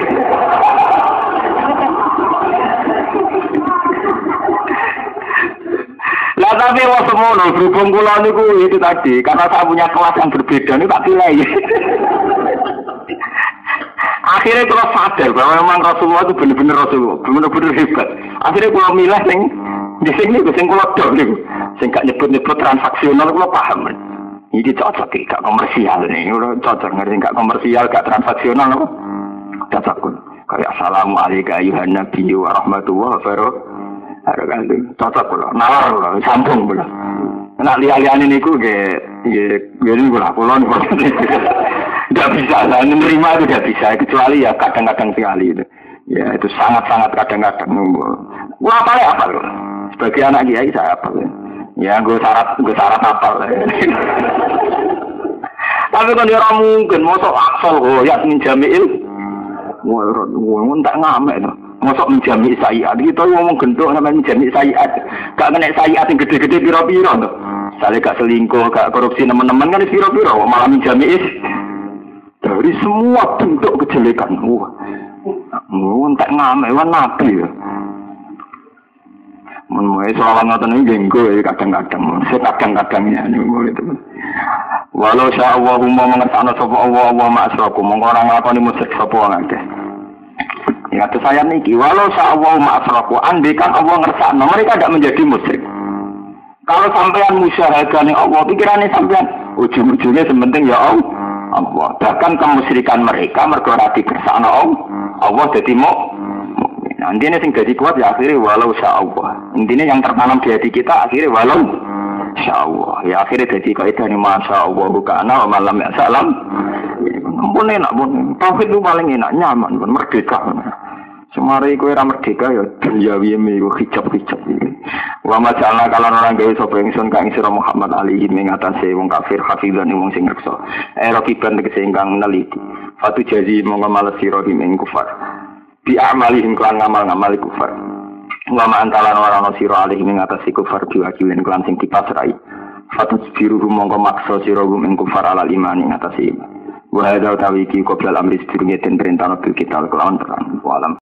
Lah tapi wong semono berhubung kula niku itu tadi karena saya punya kelas yang berbeda niku tak pilih. Akhirnya kula sadar bahwa memang Rasulullah itu benar-benar Rasulullah, benar-benar hebat. Akhirnya kula milih di sini sing kula dok niku. Sing gak nyebut-nyebut transaksional kula paham. Iki cocok iki gak komersial nih, udah cocok ngerti gak komersial, gak transaksional apa? Cocok. Kayak assalamualaikum ayuhan nabi wa rahmatullahi wabarakatuh. Cocok kula. Nalar kula, sambung kula. Nek liya-liyane niku nggih kula niku. Enggak bisa, menerima itu tidak bisa, kecuali ya kadang-kadang sekali itu. Ya itu sangat-sangat kadang-kadang. Gua apa loh? Sebagai anak kiai saya apa? Ya gue syarat apa? Tapi kan dia orang mungkin mosok aksol ya minjamil. Gue tak ngamek tuh. Mosok minjami sayiat kita ngomong gendok namanya minjami sayiat. Gak kena sayiat yang gede-gede piro-piro tuh. Saya gak selingkuh, gak korupsi teman-teman kan piro-piro malah minjami dari semua bentuk kejelekan. Tak ngamek wan nabi. Mulai soal ngoten iki nggo kadang-kadang. Kadang-kadangnya niku itu. Walau sya'allahu mengersakno sapa Allah ma'asraku mongko ora nglakoni musyrik sapa ngakeh. Ya kata saya niki walau sya'allahu ma'asraku andekan Allah ngersakno mereka tidak menjadi musyrik. Kalau sampean musyahadah ning Allah pikirane sampean ujung-ujungnya sementing ya Allah. Bahkan kemusyrikan mereka mergo ora dikersakno Allah dadi mukmin. Intinya sing dadi kuat ya akhirnya walau sya'allah. Intinya yang tertanam di hati kita akhirnya walau sya'allah. Ya akhirnya jadi kaidah ni masya'allah kana wa malam ya'salam. Ampun enak pun. Tauhid itu paling enak, nyaman pun merdeka. Semari kowe ora merdeka ya dunyawi miku hijab-hijab iki. Wa majalna kalan orang gawe sapa ingsun kang sira Muhammad alihi ing atase wong kafir hafizan wong sing reksa. Rakiban tegese ingkang neliti. Fatu jazi monggo males sira ing kufar. Bi amalihim kan ngamal-ngamal kufar. Wa ma antalan ora ana sira alihi ing atase kufar diwakilin kelan sing dipasrai. Fatu biru monggo maksa sira ing kufar alal iman ing atase. Wa hadza tawiki qoblal amri sedurunge den perintah bil kita kelawan terang. Wa alam